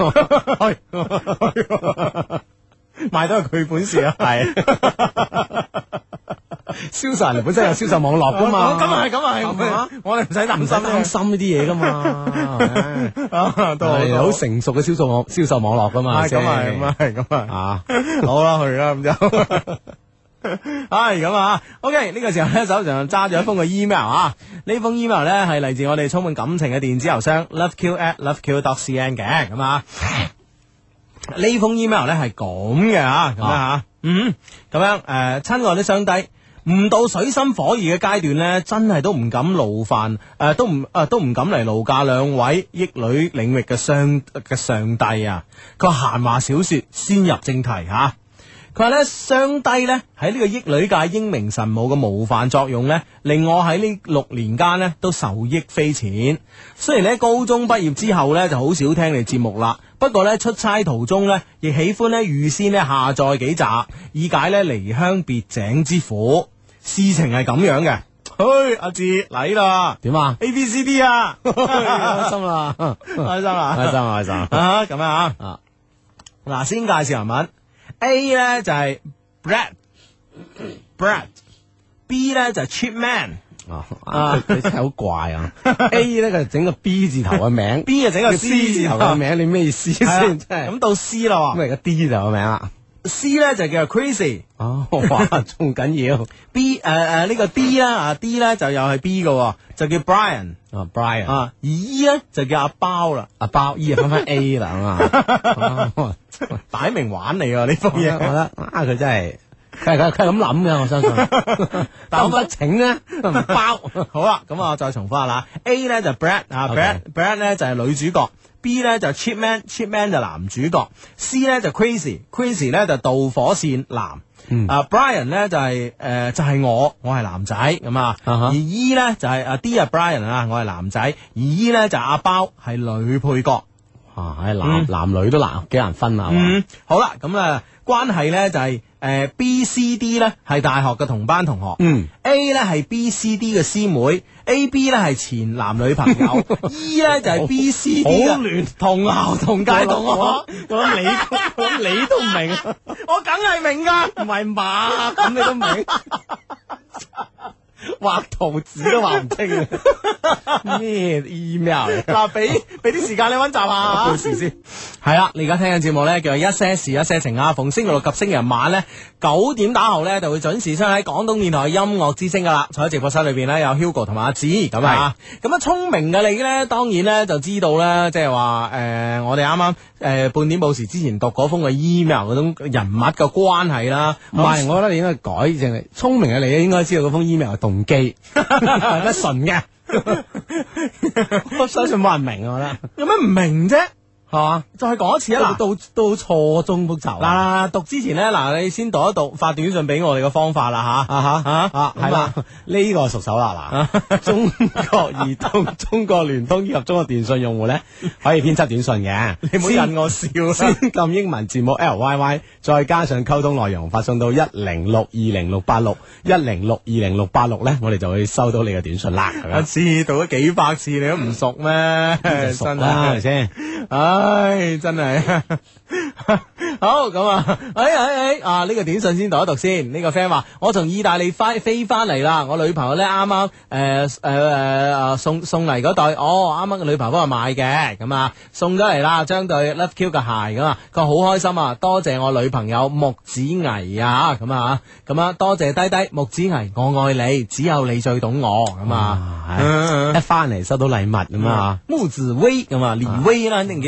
賣都係佢本事啊！係銷售人哋本身有銷售網絡噶嘛， 咁啊係，我哋唔使擔心呢啲嘢噶嘛，都係好成熟嘅銷售網絡噶嘛， 咁啊，好啦，去啦咁就，咁啊 ，OK 呢個時候咧手上揸住一封嘅 email 啊，呢封 email 咧係嚟自我哋充滿感情嘅電子郵箱 loveq@loveq.cn 嘅，咁啊。呢封 email 咧係咁嘅吓，咁樣吓，咁樣親愛的雙低，唔到水深火熱嘅階段咧，真係都唔敢勞煩，都唔敢嚟勞駕兩位益女領域嘅上帝啊！佢話閒話少說，先入正題吓。佢話咧，雙低咧喺呢個益女界英明神武嘅模範作用咧，令我喺呢6年間咧都受益匪淺。雖然咧高中畢業之後咧就好少聽你節目啦，不過咧出差途中咧亦喜歡咧預先咧下載幾集，以解咧離鄉別井之苦。事情係咁樣嘅，嘿，阿志嚟啦， 點啊 ？A B C D 啊， 開心啦，開心啊，咁樣啊，嗱，先介紹人物。A 咧就係 Brad，B 咧就係 Cheap Man， 佢真係好怪啊！A 咧佢整個 B 字頭嘅名 ，B 就整個 C 字頭嘅名， 你咩意思先？真係咁到 C 啦， 咁而家 D 就有名啦。 C 咧就叫做 Crazy， 哇，仲緊要。 B 呢個 D 啦，D 咧就又係 B 嘅，就叫 Brian，Brian， 而 E 咧就叫阿包啦， 阿包 E 翻翻 A 啦嘛， 擺明玩你喎呢封嘢， 我覺得佢真係，佢係咁諗嘅，我相信。但我不請咧，唔包。 好啦，咁我再重複下啦。A 咧就 Brad 啊 ，Brad 咧就係女主角。B 咧就 Cheap Man 就男主角。C 咧就 Crazy 咧就導火線男。 Brian 咧就係我係男仔咁啊，而 E 咧就係D 啊 Brian 啊，我係男仔，而 E 咧就阿包係女配角。 男女都幾難分啊。 好啦，咁啊關係咧就係B、C、D 咧係大學嘅同班同學，A 咧係 B、C、D 嘅師妹，A、B 咧係前男女朋友，E 咧就係 B、C、D 嘅同校同屆同學。 我諗你都唔明， 我梗係明噶， 唔係嘛？咁你都明？畫圖紙都畫唔清啊！咩 email 嚟？ 嗱，俾啲時間你溫習下， 到時先。 係啦，你而家聽緊節目咧，叫做一些事一些情啊。逢星期六及星期日晚咧9點打後咧，就會準時出喺廣東電台音樂之聲噶啦。坐喺直播室裏邊咧，有 Hugo 同埋阿子咁啊。咁啊，聰明嘅你咧，當然咧就知道咧，即係話我哋啱啱半點報時之前讀嗰封嘅 email 嗰種人物嘅關係啦。 唔係，我覺得你應該改正係聰明嘅你咧，應該知道嗰封 email 嘅動機係乜純嘅。我相信冇人明啊，我覺得有咩唔明啫？ 係嘛？ 再講一次啊！ 都錯綜複雜。 嗱，讀之前咧，你先讀一讀發短信俾我哋嘅方法啦吓。 係啦，呢個熟手啦嗱。中國移動、中國聯通以及中國電信用戶咧，可以編輯短信嘅。 你唔好引我笑啦。 先撳英文字母 LYY， 再加上溝通內容，發送到10620686 10620686咧，我哋就會收到你嘅短信啦。 一次讀咗幾百次，你都唔熟咩？ 熟啦，係咪先？ 唉，真係好咁啊！呢個短信先讀一讀先。呢個 friend 話：我從意大利飛翻嚟啦，我女朋友咧啱啱送嚟嗰對，啱啱個女朋友幫我買嘅，咁啊送咗嚟啦，將對 Love Q 嘅鞋咁啊，佢好開心啊！多謝我女朋友木子毅啊，咁啊多謝低低木子毅，我愛你，只有你最懂我，咁啊， 一翻嚟收到禮物咁啊， 木子威咁啊，李威啦。叫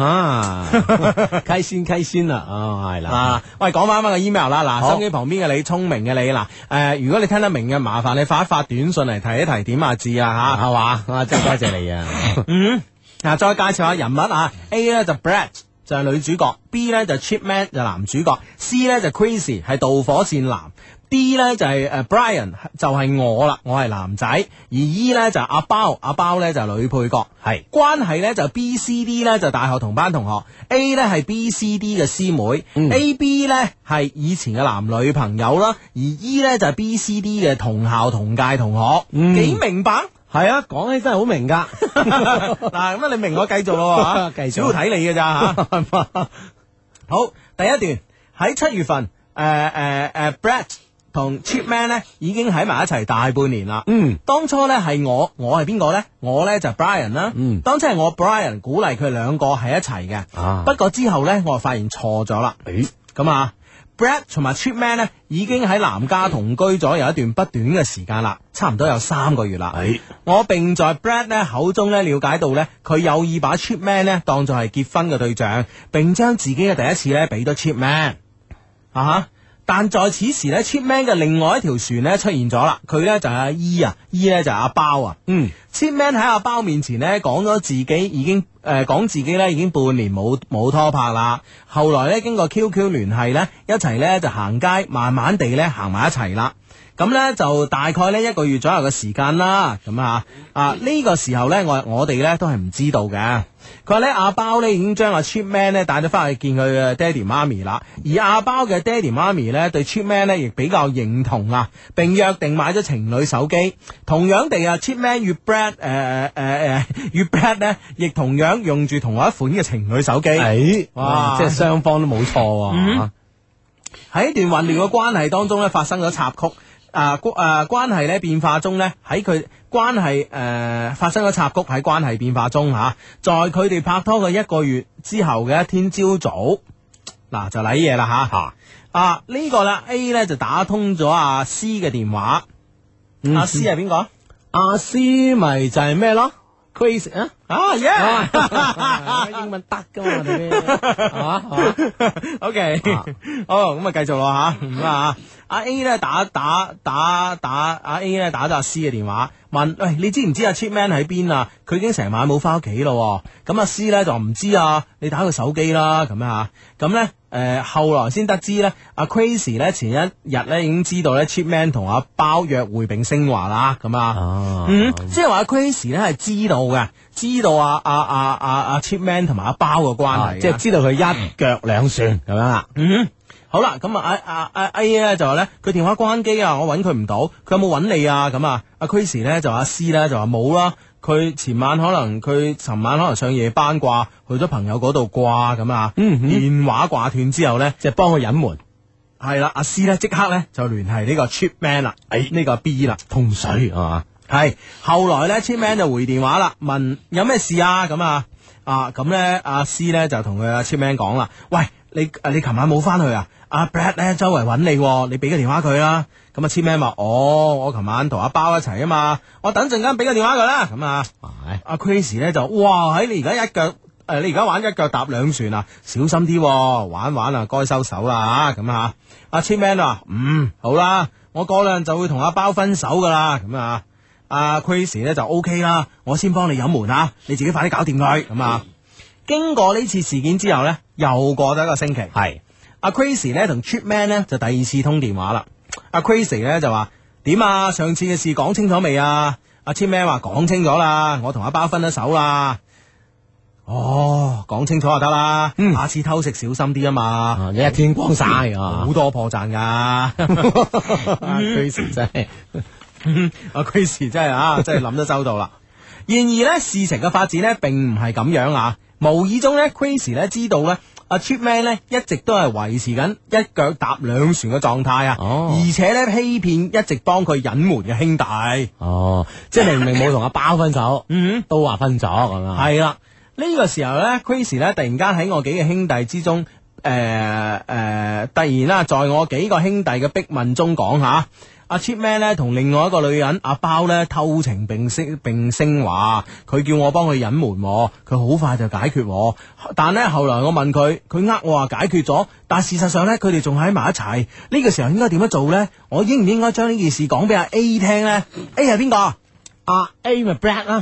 開心啦，係啦。喂，講翻個 email 啦。嗱，手機旁邊嘅你，聰明嘅你，嗱，如果你聽得明嘅，麻煩你發一發短信嚟提一提點字啊，吓係嘛，真係多謝你啊。再介紹下人物啊 ，A 咧就 Brett 就係女主角 ，B 咧就 Chipman 就男主角 ，C 咧就 Crazy 係導火線男。D 咧就係Brian 就係我啦，我係男仔，而 E 咧就係阿包咧就係女配角，係關係咧就 B C D 咧就大學同班同學 ，A 咧係 B C D 嘅師妹，A B 咧係以前嘅男女朋友啦，而 E 咧就係 B C D 嘅同校同屆同學，幾明白？ 係啊，講起真係好明噶。 嗱，咁啊你明我繼續咯吓，主要睇你嘅咋吓。好，第一段喺7月份，Brett同 Chipman 咧已經喺埋一齊大半年啦。當初咧係我係邊個咧？我咧就 Brian 啦。當初係我 Brian 鼓勵佢兩個喺一齊嘅。不過之後咧，我就發現錯咗啦。咁啊 ，Brett 同埋 Chipman 咧已經喺南加同居咗有一段不短嘅時間啦，差唔多有3個月啦。我並在 Brett 咧口中咧了解到咧，佢有意把 Chipman 咧當作係結婚嘅對象，並將自己嘅第一次咧俾咗 Chipman。但在此時咧 ，Chipman 嘅另外一條船咧出現咗啦，佢咧就係阿 E 咧就係阿包啊。Chipman 喺阿包面前咧講咗自己已經講自己咧已經半年冇拖拍啦。後來咧經過 QQ 聯繫咧，一齊咧就行街，慢慢地咧行埋一齊啦。咁咧就大概咧1個月左右嘅時間啦。咁呢個時候咧我哋咧都係唔知道嘅。佢話咧阿包咧已經將阿 Chipman 咧帶咗翻去見佢嘅爹哋媽咪啦，而阿包嘅爹哋媽咪咧對 Chipman 咧亦比較認同啊，並約定買咗情侶手機。同樣地Chipman 與 Brett 咧亦同樣用住同一款嘅情侶手機。 哇！即係雙方都冇錯。 喺一段混亂嘅關係當中咧發生咗插曲。關係咧變化中咧，喺佢關係發生咗插曲喺關係變化中吓，在佢哋拍拖嘅1個月之後嘅一天朝早，嗱就嚟嘢啦吓。呢個啦 A 咧就打通咗阿 C 嘅電話。阿 C 係邊個？ 阿 C 咪就係咩咯？Crazy 英文得噶嘛？係嘛 ？OK，好咁繼續咯吓。阿 A 咧打阿 A 咧打咗阿 C 嘅電話，問喂，你知唔知阿 Chipman 喺邊啊？佢已經成晚冇翻屋企咯。咁阿 C 咧就唔知啊，你打佢手機啦咁樣吓。咁咧後來先得知咧，阿 Crazy 咧前一日咧已經知道咧 Chipman 同阿包約會並升華啦，咁啊，即係話阿 Crazy 咧係知道嘅，知道阿 Chipman 同埋阿包嘅關係， 即係知道佢一腳兩船咁樣啦。 好啦，咁阿 A 咧就話咧，佢電話關機啊，我揾佢唔到，佢有冇揾你啊？咁啊，阿 Chris 咧就阿 C 咧就話冇啦，佢尋晚可能上夜班啩，去咗朋友嗰度啩，咁啊，電話掛斷之後咧， 即係幫佢隱瞞。 係啦，阿 C 咧即刻咧就聯繫呢個 Chipman 啦，呢個 B 啦， 通水係嘛？ 係後來咧 Chipman 就回電話啦，問有咩事啊？咁啊，咁咧阿 C 咧就同佢阿 Chipman 講啦，喂，你琴晚冇翻去啊？阿 Brad 咧周圍揾你，你俾個電話佢啦。咁啊，Chipman話：我琴晚同阿包一齊啊嘛，我等陣間俾個電話佢啦。咁啊，阿 Crazy 咧就：哇，你而家你而家玩一腳踏兩船啊，小心啲，玩啊，該收手啦嚇。咁啊，阿 Chipman 話：好啦，我過兩日就會同阿包分手噶啦。咁啊，阿 Crazy 咧就 OK 啦，我先幫你隱瞞啊，你自己快啲搞掂佢。咁啊，經過呢次事件之後咧，又過咗一個星期。係。阿 Crazy 咧同 Chipman 咧就第二次通電話啦。阿 Crazy 咧就話：點啊？上次嘅事講清楚未啊？阿 Chipman 話講清楚啦，我同阿包分咗手啦。哦，講清楚就得啦。下次偷食小心啲啊嘛。 你一天光晒好多破綻噶。阿 Crazy 真係， 阿 Crazy 真係真係諗得周到啦。然而咧，事情嘅發展咧並唔係咁樣啊。無意中咧 Crazy 咧知道咧。阿 Chipman 咧一直都係維持緊一腳踏兩船嘅狀態啊，而且咧欺騙一直幫佢隱瞞嘅兄弟。 即係明明冇同阿包分手，都話分咗咁啊。 係啦，呢個時候咧 Crazy 咧突然間喺我幾個兄弟之中，突然啦，在我幾個兄弟嘅逼問中講下。阿 Chipman 咧同另外一個女人阿包咧偷情並升華，佢叫我幫佢隱瞞，佢好快就解決。但咧後來我問佢，佢我話解決咗，但事實上咧佢哋仲喺埋一齊。呢個時候應該點樣做咧？我應唔應該將呢件事講俾阿 A 聽咧 ？A 係邊個？ 阿 A 咪 Brad 啦，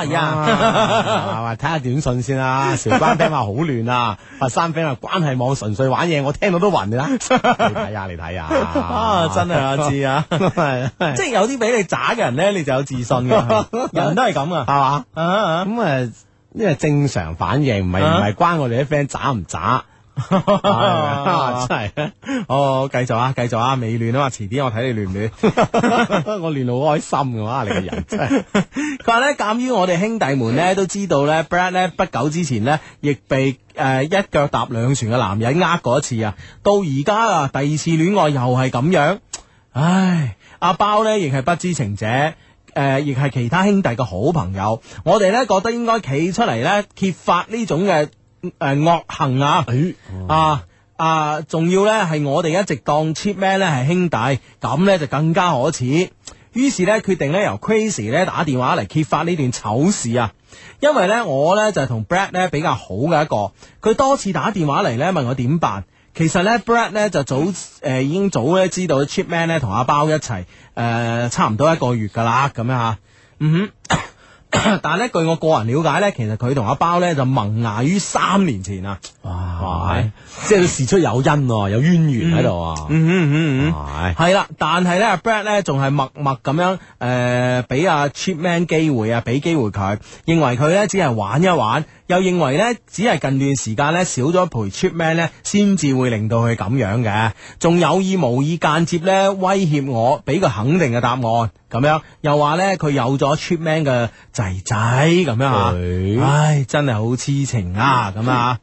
睇下短信先啦。韶關 friend 話好亂啊，佛山 friend 話關係網純粹玩嘢，我聽到都暈㗎啦。你睇下， 真係我知啊，即係有啲比你渣嘅人咧，你就有自信嘅，人都係咁啊，係嘛？ 咁呢個正常反應，唔係關我哋啲 friend 渣唔渣。真係， 繼續啊，未亂啊嘛，遲啲我睇你亂唔亂， 我亂到好開心嘅話，你個人真係。 佢話咧，鑒於我哋兄弟們咧都知道咧 ，Brad 咧不久之前咧亦被一腳踏兩船嘅男人過一次啊，到而家第二次戀愛又係咁樣，唉，阿包咧亦係不知情者。亦係其他兄弟嘅好朋友，我哋咧覺得應該企出嚟咧揭發呢種嘅惡行啊！仲要咧係我哋一直當 Chipman 咧係兄弟，咁咧就更加可恥。於是咧決定咧由 Crazy 咧打電話嚟揭發呢段醜事啊！因為咧我咧就係同 Brad 咧比較好嘅一個，佢多次打電話嚟咧問我點辦。其實咧 Brad 咧就已經早咧知道 Chipman 咧同阿包一齊差唔多1個月噶啦，咁樣吓，但係咧據我個人了解咧，其實佢同阿包咧就萌芽於3年前啊！ 哇，即係事出有因，有淵源喺度啊！ 係啦，但係咧阿 Brad 咧仲係默默咁樣俾阿 Chipman 機會啊，俾機會佢，認為佢咧只係玩一玩，又認為咧只係近段時間咧少咗陪 Chipman 咧，先至會令到佢咁樣嘅，仲有意無意間接咧威脅我，俾個肯定嘅答案，咁樣又話咧佢有咗 Chipman 嘅仔仔咁樣啊！唉，真係好痴情啊！咁啊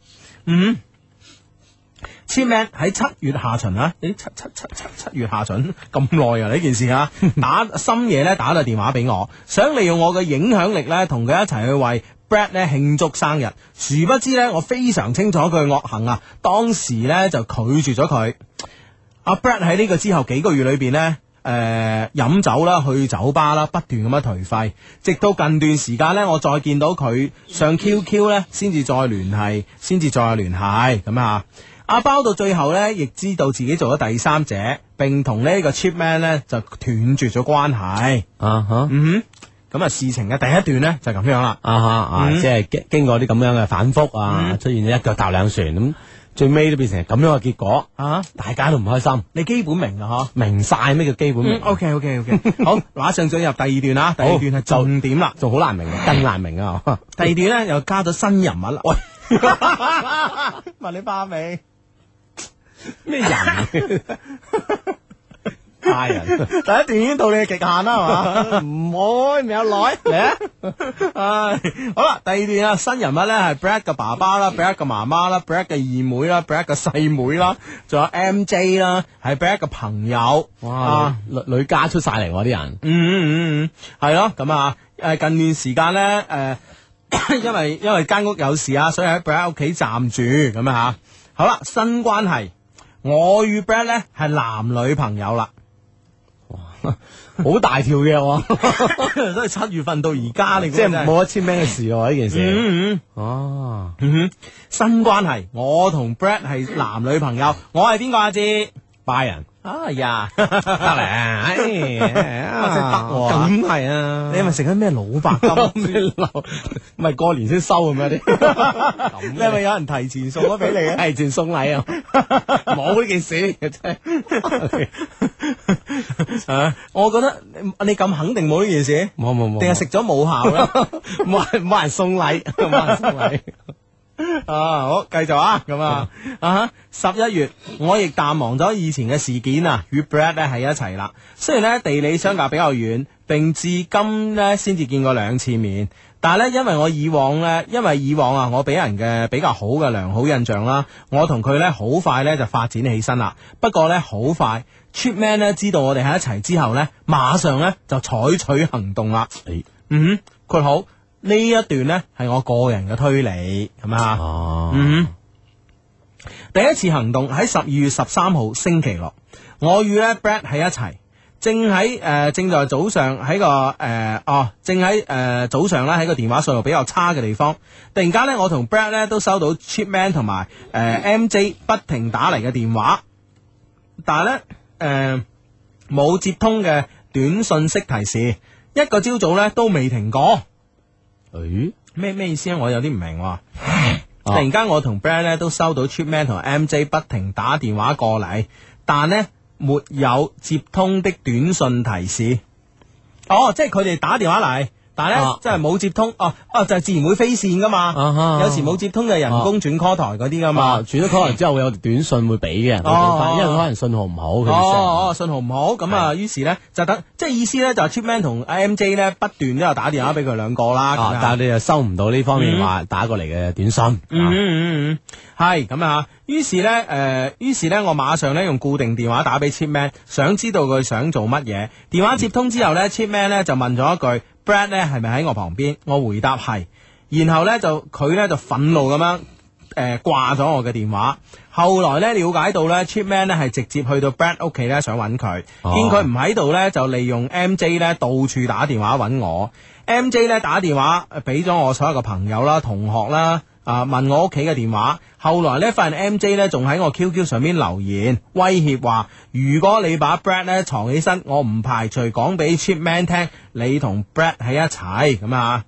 〜Chipman 喺7月下旬啊，七月下旬咁耐啊呢件事啊，深夜咧打個電話俾我，想利用我嘅影響力咧，同佢一齊去為 Brad 咧慶祝生日。殊不知咧，我非常清楚佢嘅惡行啊，當時咧就拒絕咗佢。阿 Brad 喺呢個之後幾個月裏邊呢，飲酒啦，去酒吧啦，不斷咁樣頹廢，直到近段時間呢，我再見到佢上 QQ 呢，先至再聯繫咁啊。阿包到最後呢，亦知道自己做咗第三者，並同呢個 Chipman 呢就斷絕咗關係。咁啊，事情嘅第一段呢，就咁樣啦。 即係經過啲咁樣嘅反覆啊，出現咗一腳踏兩船咁。 最尾都變成咁樣嘅結果， 啊， 大家都唔開心， 你基本明啊明晒咩叫基本明， OK，好，馬上進入第二段啦，第二段係重點啦， 仲好難明嘅，更難明啊！ 第二段咧又加咗新人物啦，喂，問你怕未？ 咩人？派人， 第一段已經到你嘅極限啦，係嘛？ 唔好未有耐嚟啊！ 唉，好啦，第二段啊，新人物咧係 Brad 嘅爸爸啦 ，Brad 嘅媽媽啦 ，Brad 嘅二妹啦，Brad 嘅細妹啦，仲有 MJ 啦，係 Brad 嘅朋友。 哇，女家出晒嚟喎啲人。 係咯，咁啊，近段時間咧，因為間屋有事啊，所以喺 Brad 屋企暫住咁啊吓。好啦，新關係，我與 Brad 咧係男女朋友啦。 好大條嘅喎， 都係7月份到而家，你即係冇得簽名嘅事喎呢件事。哦， 新關係，我同 Brad 係男女朋友，我係邊個阿志？ 拜人哎呀， 得嚟， 真係得喎， 咁係啊！ 你係咪食緊咩老白金？ 咩流？唔係過年先收咁樣啲？ 你係咪有人提前送咗俾你啊？ 提前送禮啊！冇呢件事真係。 我覺得你咁肯定冇呢件事， 冇， 定係食咗冇效啦？ 冇人送禮，冇人送禮。 好，繼續啊，咁啊，11月我亦淡忘咗以前嘅事件啊，與 Brad 咧喺一齊啦。雖然咧地理相隔比較遠，並至今咧先至見過2次面，但係咧因為以往啊，我俾人嘅比較好嘅良好印象啦，我同佢咧好快咧就發展起身啦。不過咧好快 ，Chipman 咧知道我哋喺一齊之後咧，馬上咧就採取行動啦。佢好。呢一段呢係我個人嘅推理，係咪啊？第一次行動喺12月13號星期六，我與咧 Brad 喺一齊，正在早上喺早上咧喺個電話信號比較差嘅地方，突然間呢，我同 Brad 咧都收到 Chipman 同埋MJ 不停打嚟嘅電話，但係呢，冇接通嘅短信息提示，一個朝早呢都未停過。咩意思啊？我有啲唔明。突然間我同 Brad 咧都收到 Chipman 同 MJ 不停打電話過嚟，但呢沒有接通的短信提示。即係佢哋打電話嚟，但係咧即係冇接通。就係自然會飛線噶嘛。有時冇接通就係人工轉 call 台嗰啲噶嘛。 轉咗 call 台之後會有短信會俾嘅，因為佢可能信號唔好。 信號唔好咁啊，於是咧就等，即係意思咧就係 Chipman 同 MJ 咧不斷都有打電話俾佢兩個啦。 但係你又收唔到呢方面話打過嚟嘅短信。 係咁啊。於是咧我馬上咧用固定電話打俾 Chipman， 想知道佢想做乜嘢。電話接通之後咧，Chipman 咧就問咗一句 Brad 咧係咪喺我旁邊？我回答係，然後咧佢咧就憤怒咁樣掛咗我嘅電話。後來咧了解到咧 Chipman 咧係直接去到 Brad 屋企咧想揾佢，見佢唔喺度咧就利用 MJ 咧到處打電話揾我。MJ 咧打電話俾咗我所有嘅朋友啦、同學啦。問我屋企嘅電話，後來咧發現 MJ 咧仲喺我 QQ 上面留言，威脅話如果你把 Brad 咧藏起身，我唔排除講俾 Chipman 聽你同 Brad 喺一齊咁啊。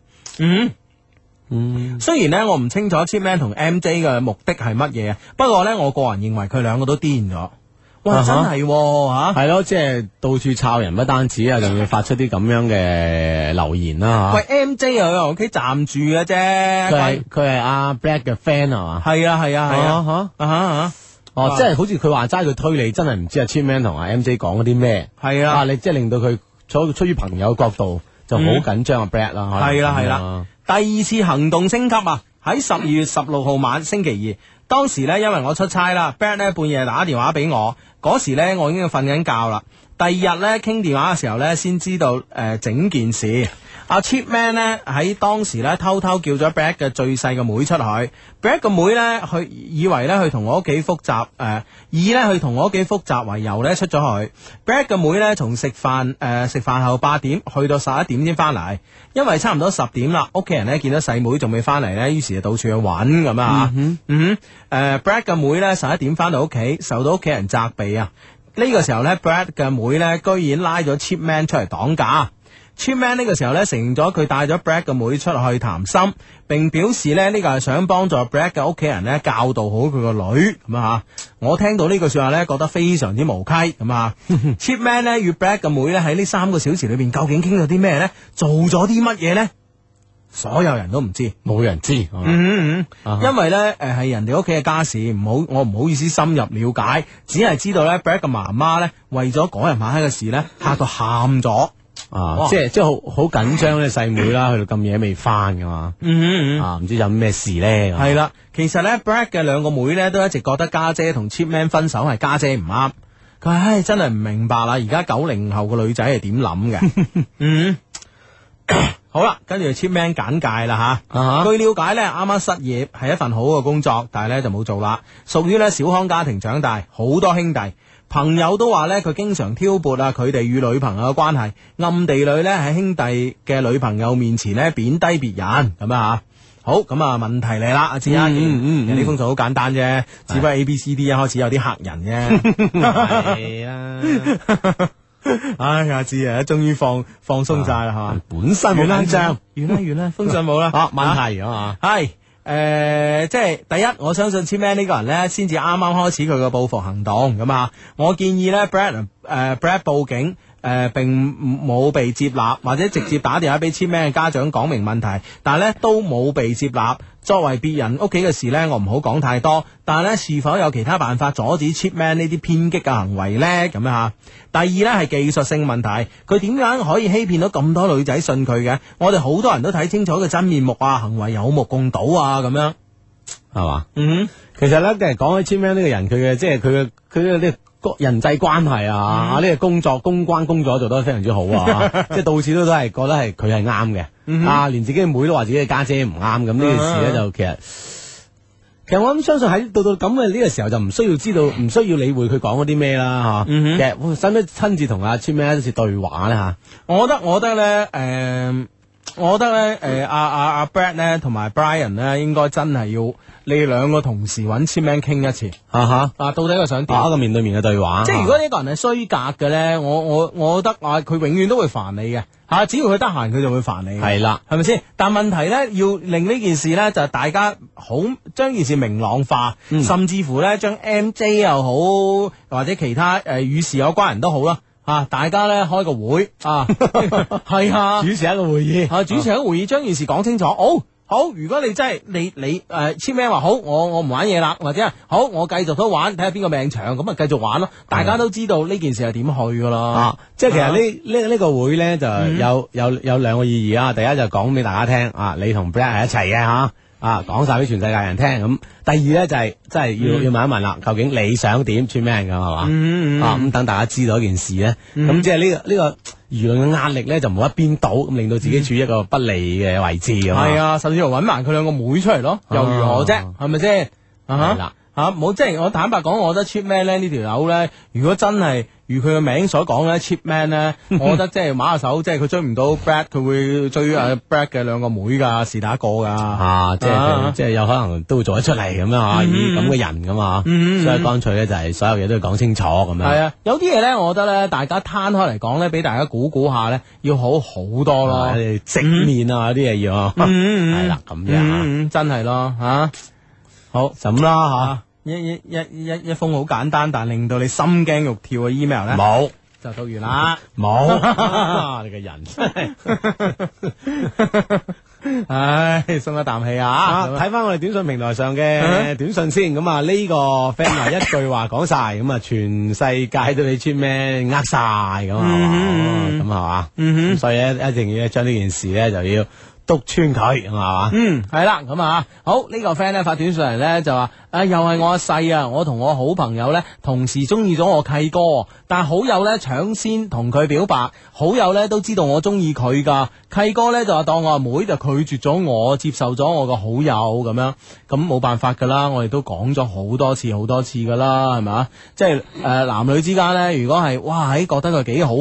雖然咧我唔清楚 Chipman 同 MJ 嘅目的係乜嘢，不過咧我個人認為佢兩個都癲咗。哇，真係吓， 係咯，即係到處抄人，不單止啊，仲要發出啲咁樣嘅留言啦。 喂，MJ 又喺屋企暫住嘅啫， 佢係阿 Brad 嘅 friend 啊嘛。 係啊， 即係好似佢話齋，佢推理真係唔知阿 Chipman 同阿 MJ 講嗰啲咩。 係啊， 你即係令到佢出於朋友角度就好緊張阿 Brad 啦。 係啦，第二次行動升級啊！喺12月16號晚星期二，當時咧因為我出差啦 ，Brad 咧半夜打電話俾我，嗰時咧我已經瞓緊覺啦。第二日咧傾電話嘅時候咧，先知道整件事。阿 Chipman 咧喺當時咧偷偷叫咗 Brad 嘅最細嘅妹出去 ，Brad 個妹咧以為咧去同我屋企複習，以咧去同我屋企複習為由咧出咗去。Brad 嘅妹咧從食飯後8點去到11點先翻嚟，因為差唔多10點啦，屋企人咧見到細妹仲未翻嚟咧，於是就到處去揾咁啊。Brad 嘅妹咧11點翻到屋企，受到屋企人責備啊。呢個時候咧 ，Brad 嘅妹咧居然拉咗 Chipman 出嚟擋架。 Cheap Man 呢個時候咧承認咗佢帶咗 Brad 嘅妹出去談心，並表示咧呢個係想幫助 Brad 嘅屋企人咧教導好佢個女咁啊。我聽到呢句說話咧，覺得非常之無稽咁啊。Cheap Man 咧與 Brad 嘅妹咧喺呢3個小時裏邊究竟傾咗啲咩咧？做咗啲乜嘢咧？所有人都唔知， 冇人知。 因為咧係人哋屋企嘅家事，我唔好意思深入了解，只係知道咧 Brad 嘅媽媽咧為咗嗰日晚黑嘅事咧嚇到喊咗。 即係好緊張咧，細妹啦，去到咁夜未翻噶嘛，唔知有咩事咧。 係啦，其實咧 Brad 嘅2個妹咧都一直覺得家姐同 Cheap Man 分手係家姐唔啱，佢話唉真係唔明白啦，而家90後個女仔係點諗嘅。好啦，跟住 Cheap Man 簡介啦吓。據了解咧，啱啱失業係一份好嘅工作，但係咧就冇做啦。屬於咧小康家庭長大，好多兄弟朋友都話咧佢經常挑撥啊佢哋與女朋友嘅關係，暗地裏咧喺兄弟嘅女朋友面前咧貶低別人咁啊。好，咁啊問題嚟啦，阿志啊，人呢封信好簡單啫，只不過 A B C D 一開始有啲嚇人啫。係啊。唉，阿志啊，終於放鬆晒啦，係嘛？ 本身冇緊張， 完啦，封信冇啦。 問題啊嘛， 係即係第一，我相信 Cheap Man 呢個人咧，先至啱啱開始佢嘅報復行動咁啊。我建議咧 Brad 報警。並冇被接納，或者直接打電話俾 Cheap Man 嘅家長講明問題，但係咧都冇被接納。作為別人屋企嘅事咧，我唔好講太多。但係咧，是否有其他辦法阻止 Cheap Man 呢啲偏激嘅行為咧？咁樣吓。第二咧係技術性問題，佢點樣可以欺騙到咁多女仔信佢嘅？我哋好多人都睇清楚佢真面目啊，行為有目共睹啊，咁樣係嘛？其實咧，即係講起 Cheap Man 呢個人，佢嘅即係佢嘅呢個人際關係啊，呢個公關工作做得非常之好啊，即係到處都係覺得係佢係啱嘅，連自己嘅妹都話自己嘅家姐唔啱，咁呢件事咧就其實我諗相信喺到咁嘅呢個時候就唔需要知道，唔需要理會佢講嗰啲咩啦，吓。其實使唔使親自同阿 Cheap Man 一次對話咧吓？ 我覺得咧，阿 Brad 咧同埋 Brian 咧，應該真係要你哋2個同時揾 Cheap Man 傾一次，到底佢想點？ 一個面對面嘅對話。 即係如果呢個人係衰格嘅咧，我覺得佢永遠都會煩你嘅吓，只要佢得閒，佢就會煩你。係啦，係咪先？但問題咧，要令呢件事咧就係大家好將件事明朗化，甚至乎咧將 MJ 又好或者其他與事有關人都好啦。大家咧開個會係啊， 主持一個會議， 主持一個會議，將件事講清楚。好，如果你真係你Cheap Man話好，我唔玩嘢啦，或者係好，我繼續都玩，睇下邊個命長，咁啊繼續玩咯。大家都知道呢件事係點去噶啦。 即係其實呢個會咧就有2個意義啊。第一就講俾大家聽，你同 Brad 係一齊嘅吓。講晒俾全世界人聽咁。第二咧就係真係要問一問啦，究竟你想點 Cheap Man 噶係嘛？咁等大家知道一件事咧，咁即係呢個輿論嘅壓力咧就唔好一邊倒，咁令到自己處於一個不利嘅位置咁。係啊，甚至乎揾埋佢2個妹出嚟咯，又如何啫？係咪先？係啦。冇即係我坦白講，我覺得 Cheap Man 咧呢條友咧，如果真係如佢嘅名所講咧 ，Cheap Man 咧，我覺得即係馬下手，即係佢追唔到 Brad，佢會追Brad 嘅2個妹噶，是打一個噶， 即係有可能都會做得出嚟咁樣吓，以咁嘅人噶嘛，所以乾脆咧就係所有嘢都要講清楚咁樣。係啊， 有啲嘢咧，我覺得咧，大家攤開嚟講咧，俾大家估下咧，要好多咯， 正面啊啲嘢要，係啦咁樣， 真係咯吓。好就咁啦吓，一封好簡單但令到你心驚肉跳嘅 email 咧， 冇就讀完啦， 冇你個人真係， 唉，鬆一啖氣啊！ 睇翻我哋短信平台上嘅短信先，咁啊呢個 friend 啊一句話講晒，咁啊全世界都俾 Cheap Man 呃晒咁係嘛，咁係嘛，咁所以咧一定要將呢件事咧就要督穿佢係嘛， 係啦，咁啊好呢個 friend 咧發短信嚟咧就話又係我阿細啊，我同我好朋友咧同時中意咗我契哥，但係好友咧搶先同佢表白，好友咧都知道我中意佢噶，契哥咧就話當我阿妹就拒絕咗我，接受咗我個好友咁樣，咁冇辦法噶啦，我哋都講咗好多次噶啦，係咪？即係男女之間咧，如果係哇喺覺得佢幾好，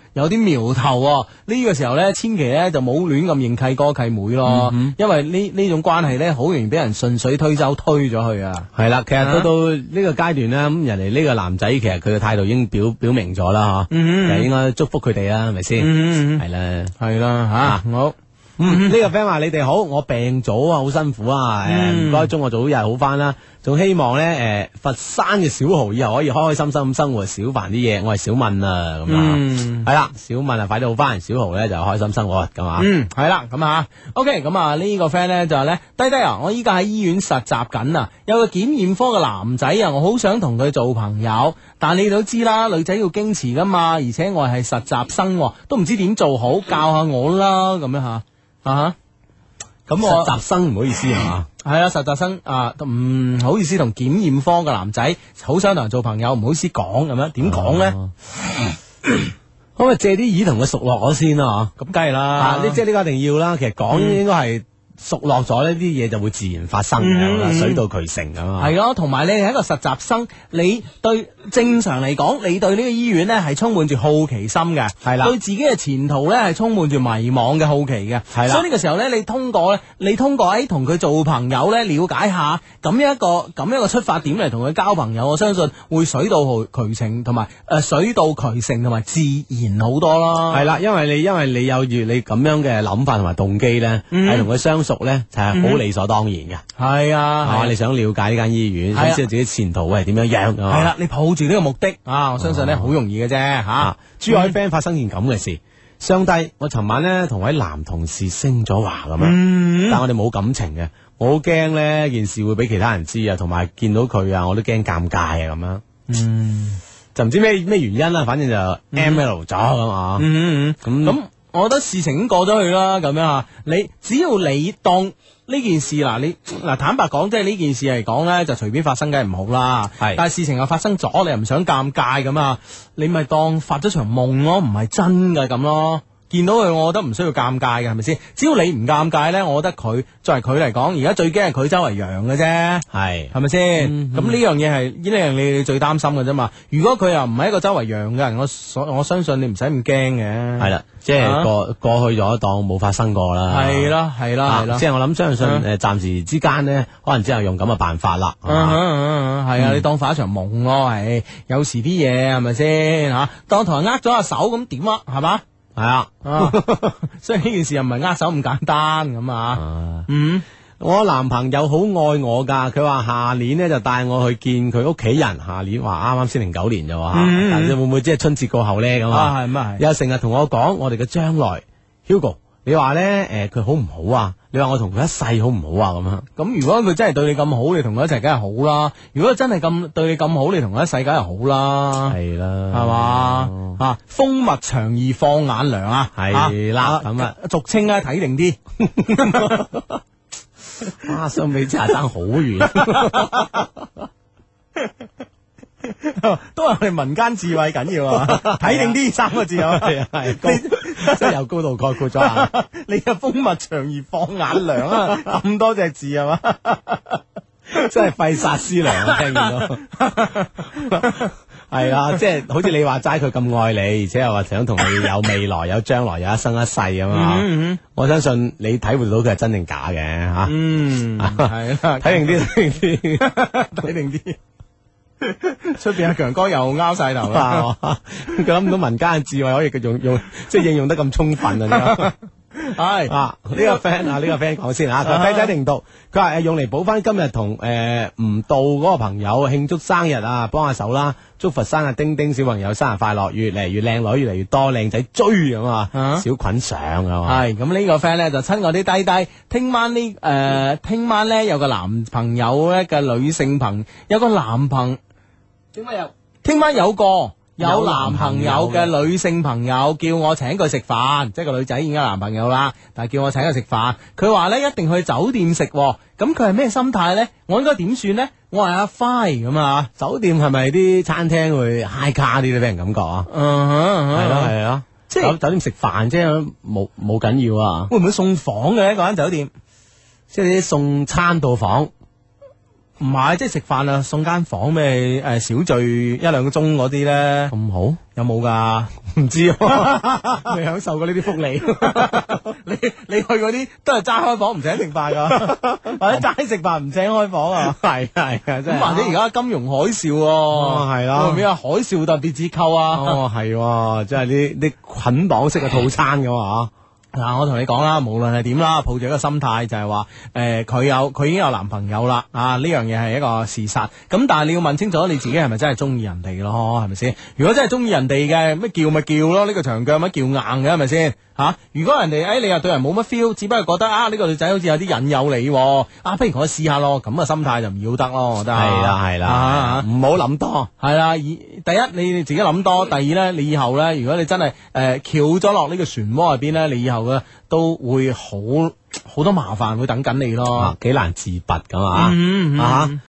有啲苗頭喎。呢個時候咧，千祈咧就冇亂咁認契哥契妹咯，因為呢種關係咧，好容易俾人順水推舟推咗去啊。 係啦，其實到呢個階段咧，咁人哋呢個男仔其實佢嘅態度已經表明咗啦，嗬，其實應該祝福佢哋啦，係咪先？係啦， 係啦，吓好。 呢個 friend 話你哋好，我病咗啊，好辛苦啊，唔該，祝我早日好翻啦。仲希望咧，佛山嘅小豪以後可以開開心心咁生活，少煩啲嘢。我係小敏啊，咁啊，係啦，小敏啊，快啲好翻，小豪咧就開心生活咁啊。 係啦，咁啊，OK，咁啊呢個 friend 咧就係咧，低低啊，我依家喺醫院實習緊啊，有個檢驗科嘅男仔啊，我好想同佢做朋友，但你都知啦，女仔要矜持噶嘛，而且我係實習生，都唔知點做好，教下我啦，咁樣吓。咁我實習生唔好意思係嘛？ 係啊，實習生啊，唔好意思同檢驗科嘅男仔，好想同人做朋友，唔好意思講咁樣，點講咧？ 可唔可以借啲意同佢熟絡咗先啊？ 咁梗係啦， 即係呢個一定要啦。其實講應該係熟絡咗呢啲嘢就會自然發生嘅，水到渠成咁啊。 係咯，同埋你係一個實習生，你對正常嚟講，你對呢個醫院咧係充滿住好奇心嘅，係啦，對自己嘅前途咧係充滿住迷茫嘅好奇嘅，係啦。所以呢個時候咧，你通過喺同佢做朋友咧，了解下咁一個出發點嚟同佢交朋友，我相信會水到渠成，同埋水到渠成同埋自然好多咯。係啦， 因為你有住你咁樣嘅諗法同埋動機咧，係同佢相熟咧，就係好理所當然嘅。係啊，你想了解呢間醫院，想知道自己前途會係點樣，係啦， 你抱住呢個目的啊，我相信咧好容易嘅啫吓。 珠海 friend 發生件咁嘅事，相低，我尋晚咧同位男同事升咗華咁樣，但我哋冇感情嘅，我好驚咧件事會俾其他人知啊，同埋見到佢啊，我都驚尷尬啊咁樣。就唔知咩原因啦，反正就 ML 咗咁啊。 咁我覺得事情已經過咗去啦，咁樣啊，你只要你當呢件事嗱，坦白講，即係呢件事嚟講咧，就隨便發生梗係唔好啦。係，但係事情又發生咗，你又唔想尷尬咁啊，你咪當發咗場夢咯，唔係真嘅咁咯。見到佢，我覺得唔需要尷尬嘅，係咪先？只要你唔尷尬咧，我覺得佢作為佢嚟講，而家最驚係佢周圍揚嘅啫，係咪先？咁呢樣嘢係呢樣你最擔心嘅啫嘛。如果佢又唔係一個周圍揚嘅人，我相信你唔使咁驚嘅。係啦，即係過去咗當冇發生過啦。係啦，即係我諗相信暫時之間呢，可能只係用咁嘅辦法啦。係啊，你當發一場夢咯，係有時啲嘢係咪先吓？當同人握咗下手咁點啊？係嘛？係啊，所以呢件事又唔係握手咁簡單咁啊。 我男朋友好愛我噶，佢話下年呢就帶我去見佢屋企人。下年話啱啱先09年咋，但係會唔會即係春節過後呢？咁啊？係又成日同我講我哋嘅將來。Hugo，你話呢？佢好唔好啊？你話我同佢一世好唔好啊？咁樣咁如果佢真係對你咁好，你同佢一齊梗係好啦。如果真係對你咁好，你同佢一世梗係好啦。係啦，係嘛？風物長宜放眼量啊，係啦，咁啊，俗稱咧睇定啲。 哇，相比之下爭好遠。 都係我哋民間智慧緊要啊！睇定啲3個字啊，係即係有高度概括咗啊！ 你嘅風物長宜放眼量啊，咁多隻字係嘛？ 真係費煞思量啊！聽見到係啊，即係好似你話齋，佢咁愛你，而且又話想同你有未來、有將來、有一生一世咁啊！我相信你體會到佢係真定假嘅吓。係啦，睇定啲。 出邊阿強哥又拗晒頭啦， 佢諗唔到民間嘅智慧可以用即係應用得咁充分啊！係呢個 friend 講先啊，佢低低定讀，佢話用嚟補翻今日同唔到嗰個朋友慶祝生日啊，幫下手啦，祝佛山丁丁小朋友生日快樂，越嚟越靚女，越嚟越多靚仔追咁啊，小菌上啊嘛。係咁呢個 friend 咧就親愛啲低低，聽晚咧有個男朋友咧嘅女性朋有個男朋。聽晚有男朋友嘅女性朋友叫我請佢食飯，即係個女仔已經有男朋友啦，但係叫我請佢食飯。佢話咧一定去酒店食，咁佢係咩心態咧？我應該點算咧？我係阿輝咁啊！酒店係咪啲餐廳會 high 卡啲咧？俾人感覺啊？係咯，即係酒店食飯啫，冇緊要啊！會唔會送房嘅一間酒店？即係啲送餐到房。 唔係，即係食飯啊，送間房咩？小聚1-2個鐘嗰啲咧， 咁好， 有冇㗎？ 唔知喎，未享受過呢啲福利。 你去嗰啲都係齋開房唔請食飯㗎，或者齋食飯唔請開房啊？ 係真係。 咁或者而家金融海嘯喎， 係啦會唔會啊？海嘯特別折扣啊？ 哦，係喎，即係啲捆綁式嘅套餐㗎嘛。 嗱，我同你講啦，無論係點啦，抱住一個心態就係話，佢已經有男朋友啦，啊呢樣嘢係一個事實。咁但係你要問清楚你自己係咪真係中意人哋咯，係咪先？如果真係中意人哋嘅，咩叫咪叫咯，呢個長腳咪叫硬嘅，係咪先？吓，如果人哋你又對人冇乜 feel，只不過覺得呢個女仔好似有啲引誘你，不如我試下咯，咁嘅心態就唔要得咯，我覺得係啦，唔好諗多， 係啦。第一你自己諗多，第二咧你以後咧，如果你真係翹咗落呢個漩渦入邊咧，你以後嘅都會好多麻煩會等緊你咯， 幾難自拔噶嘛。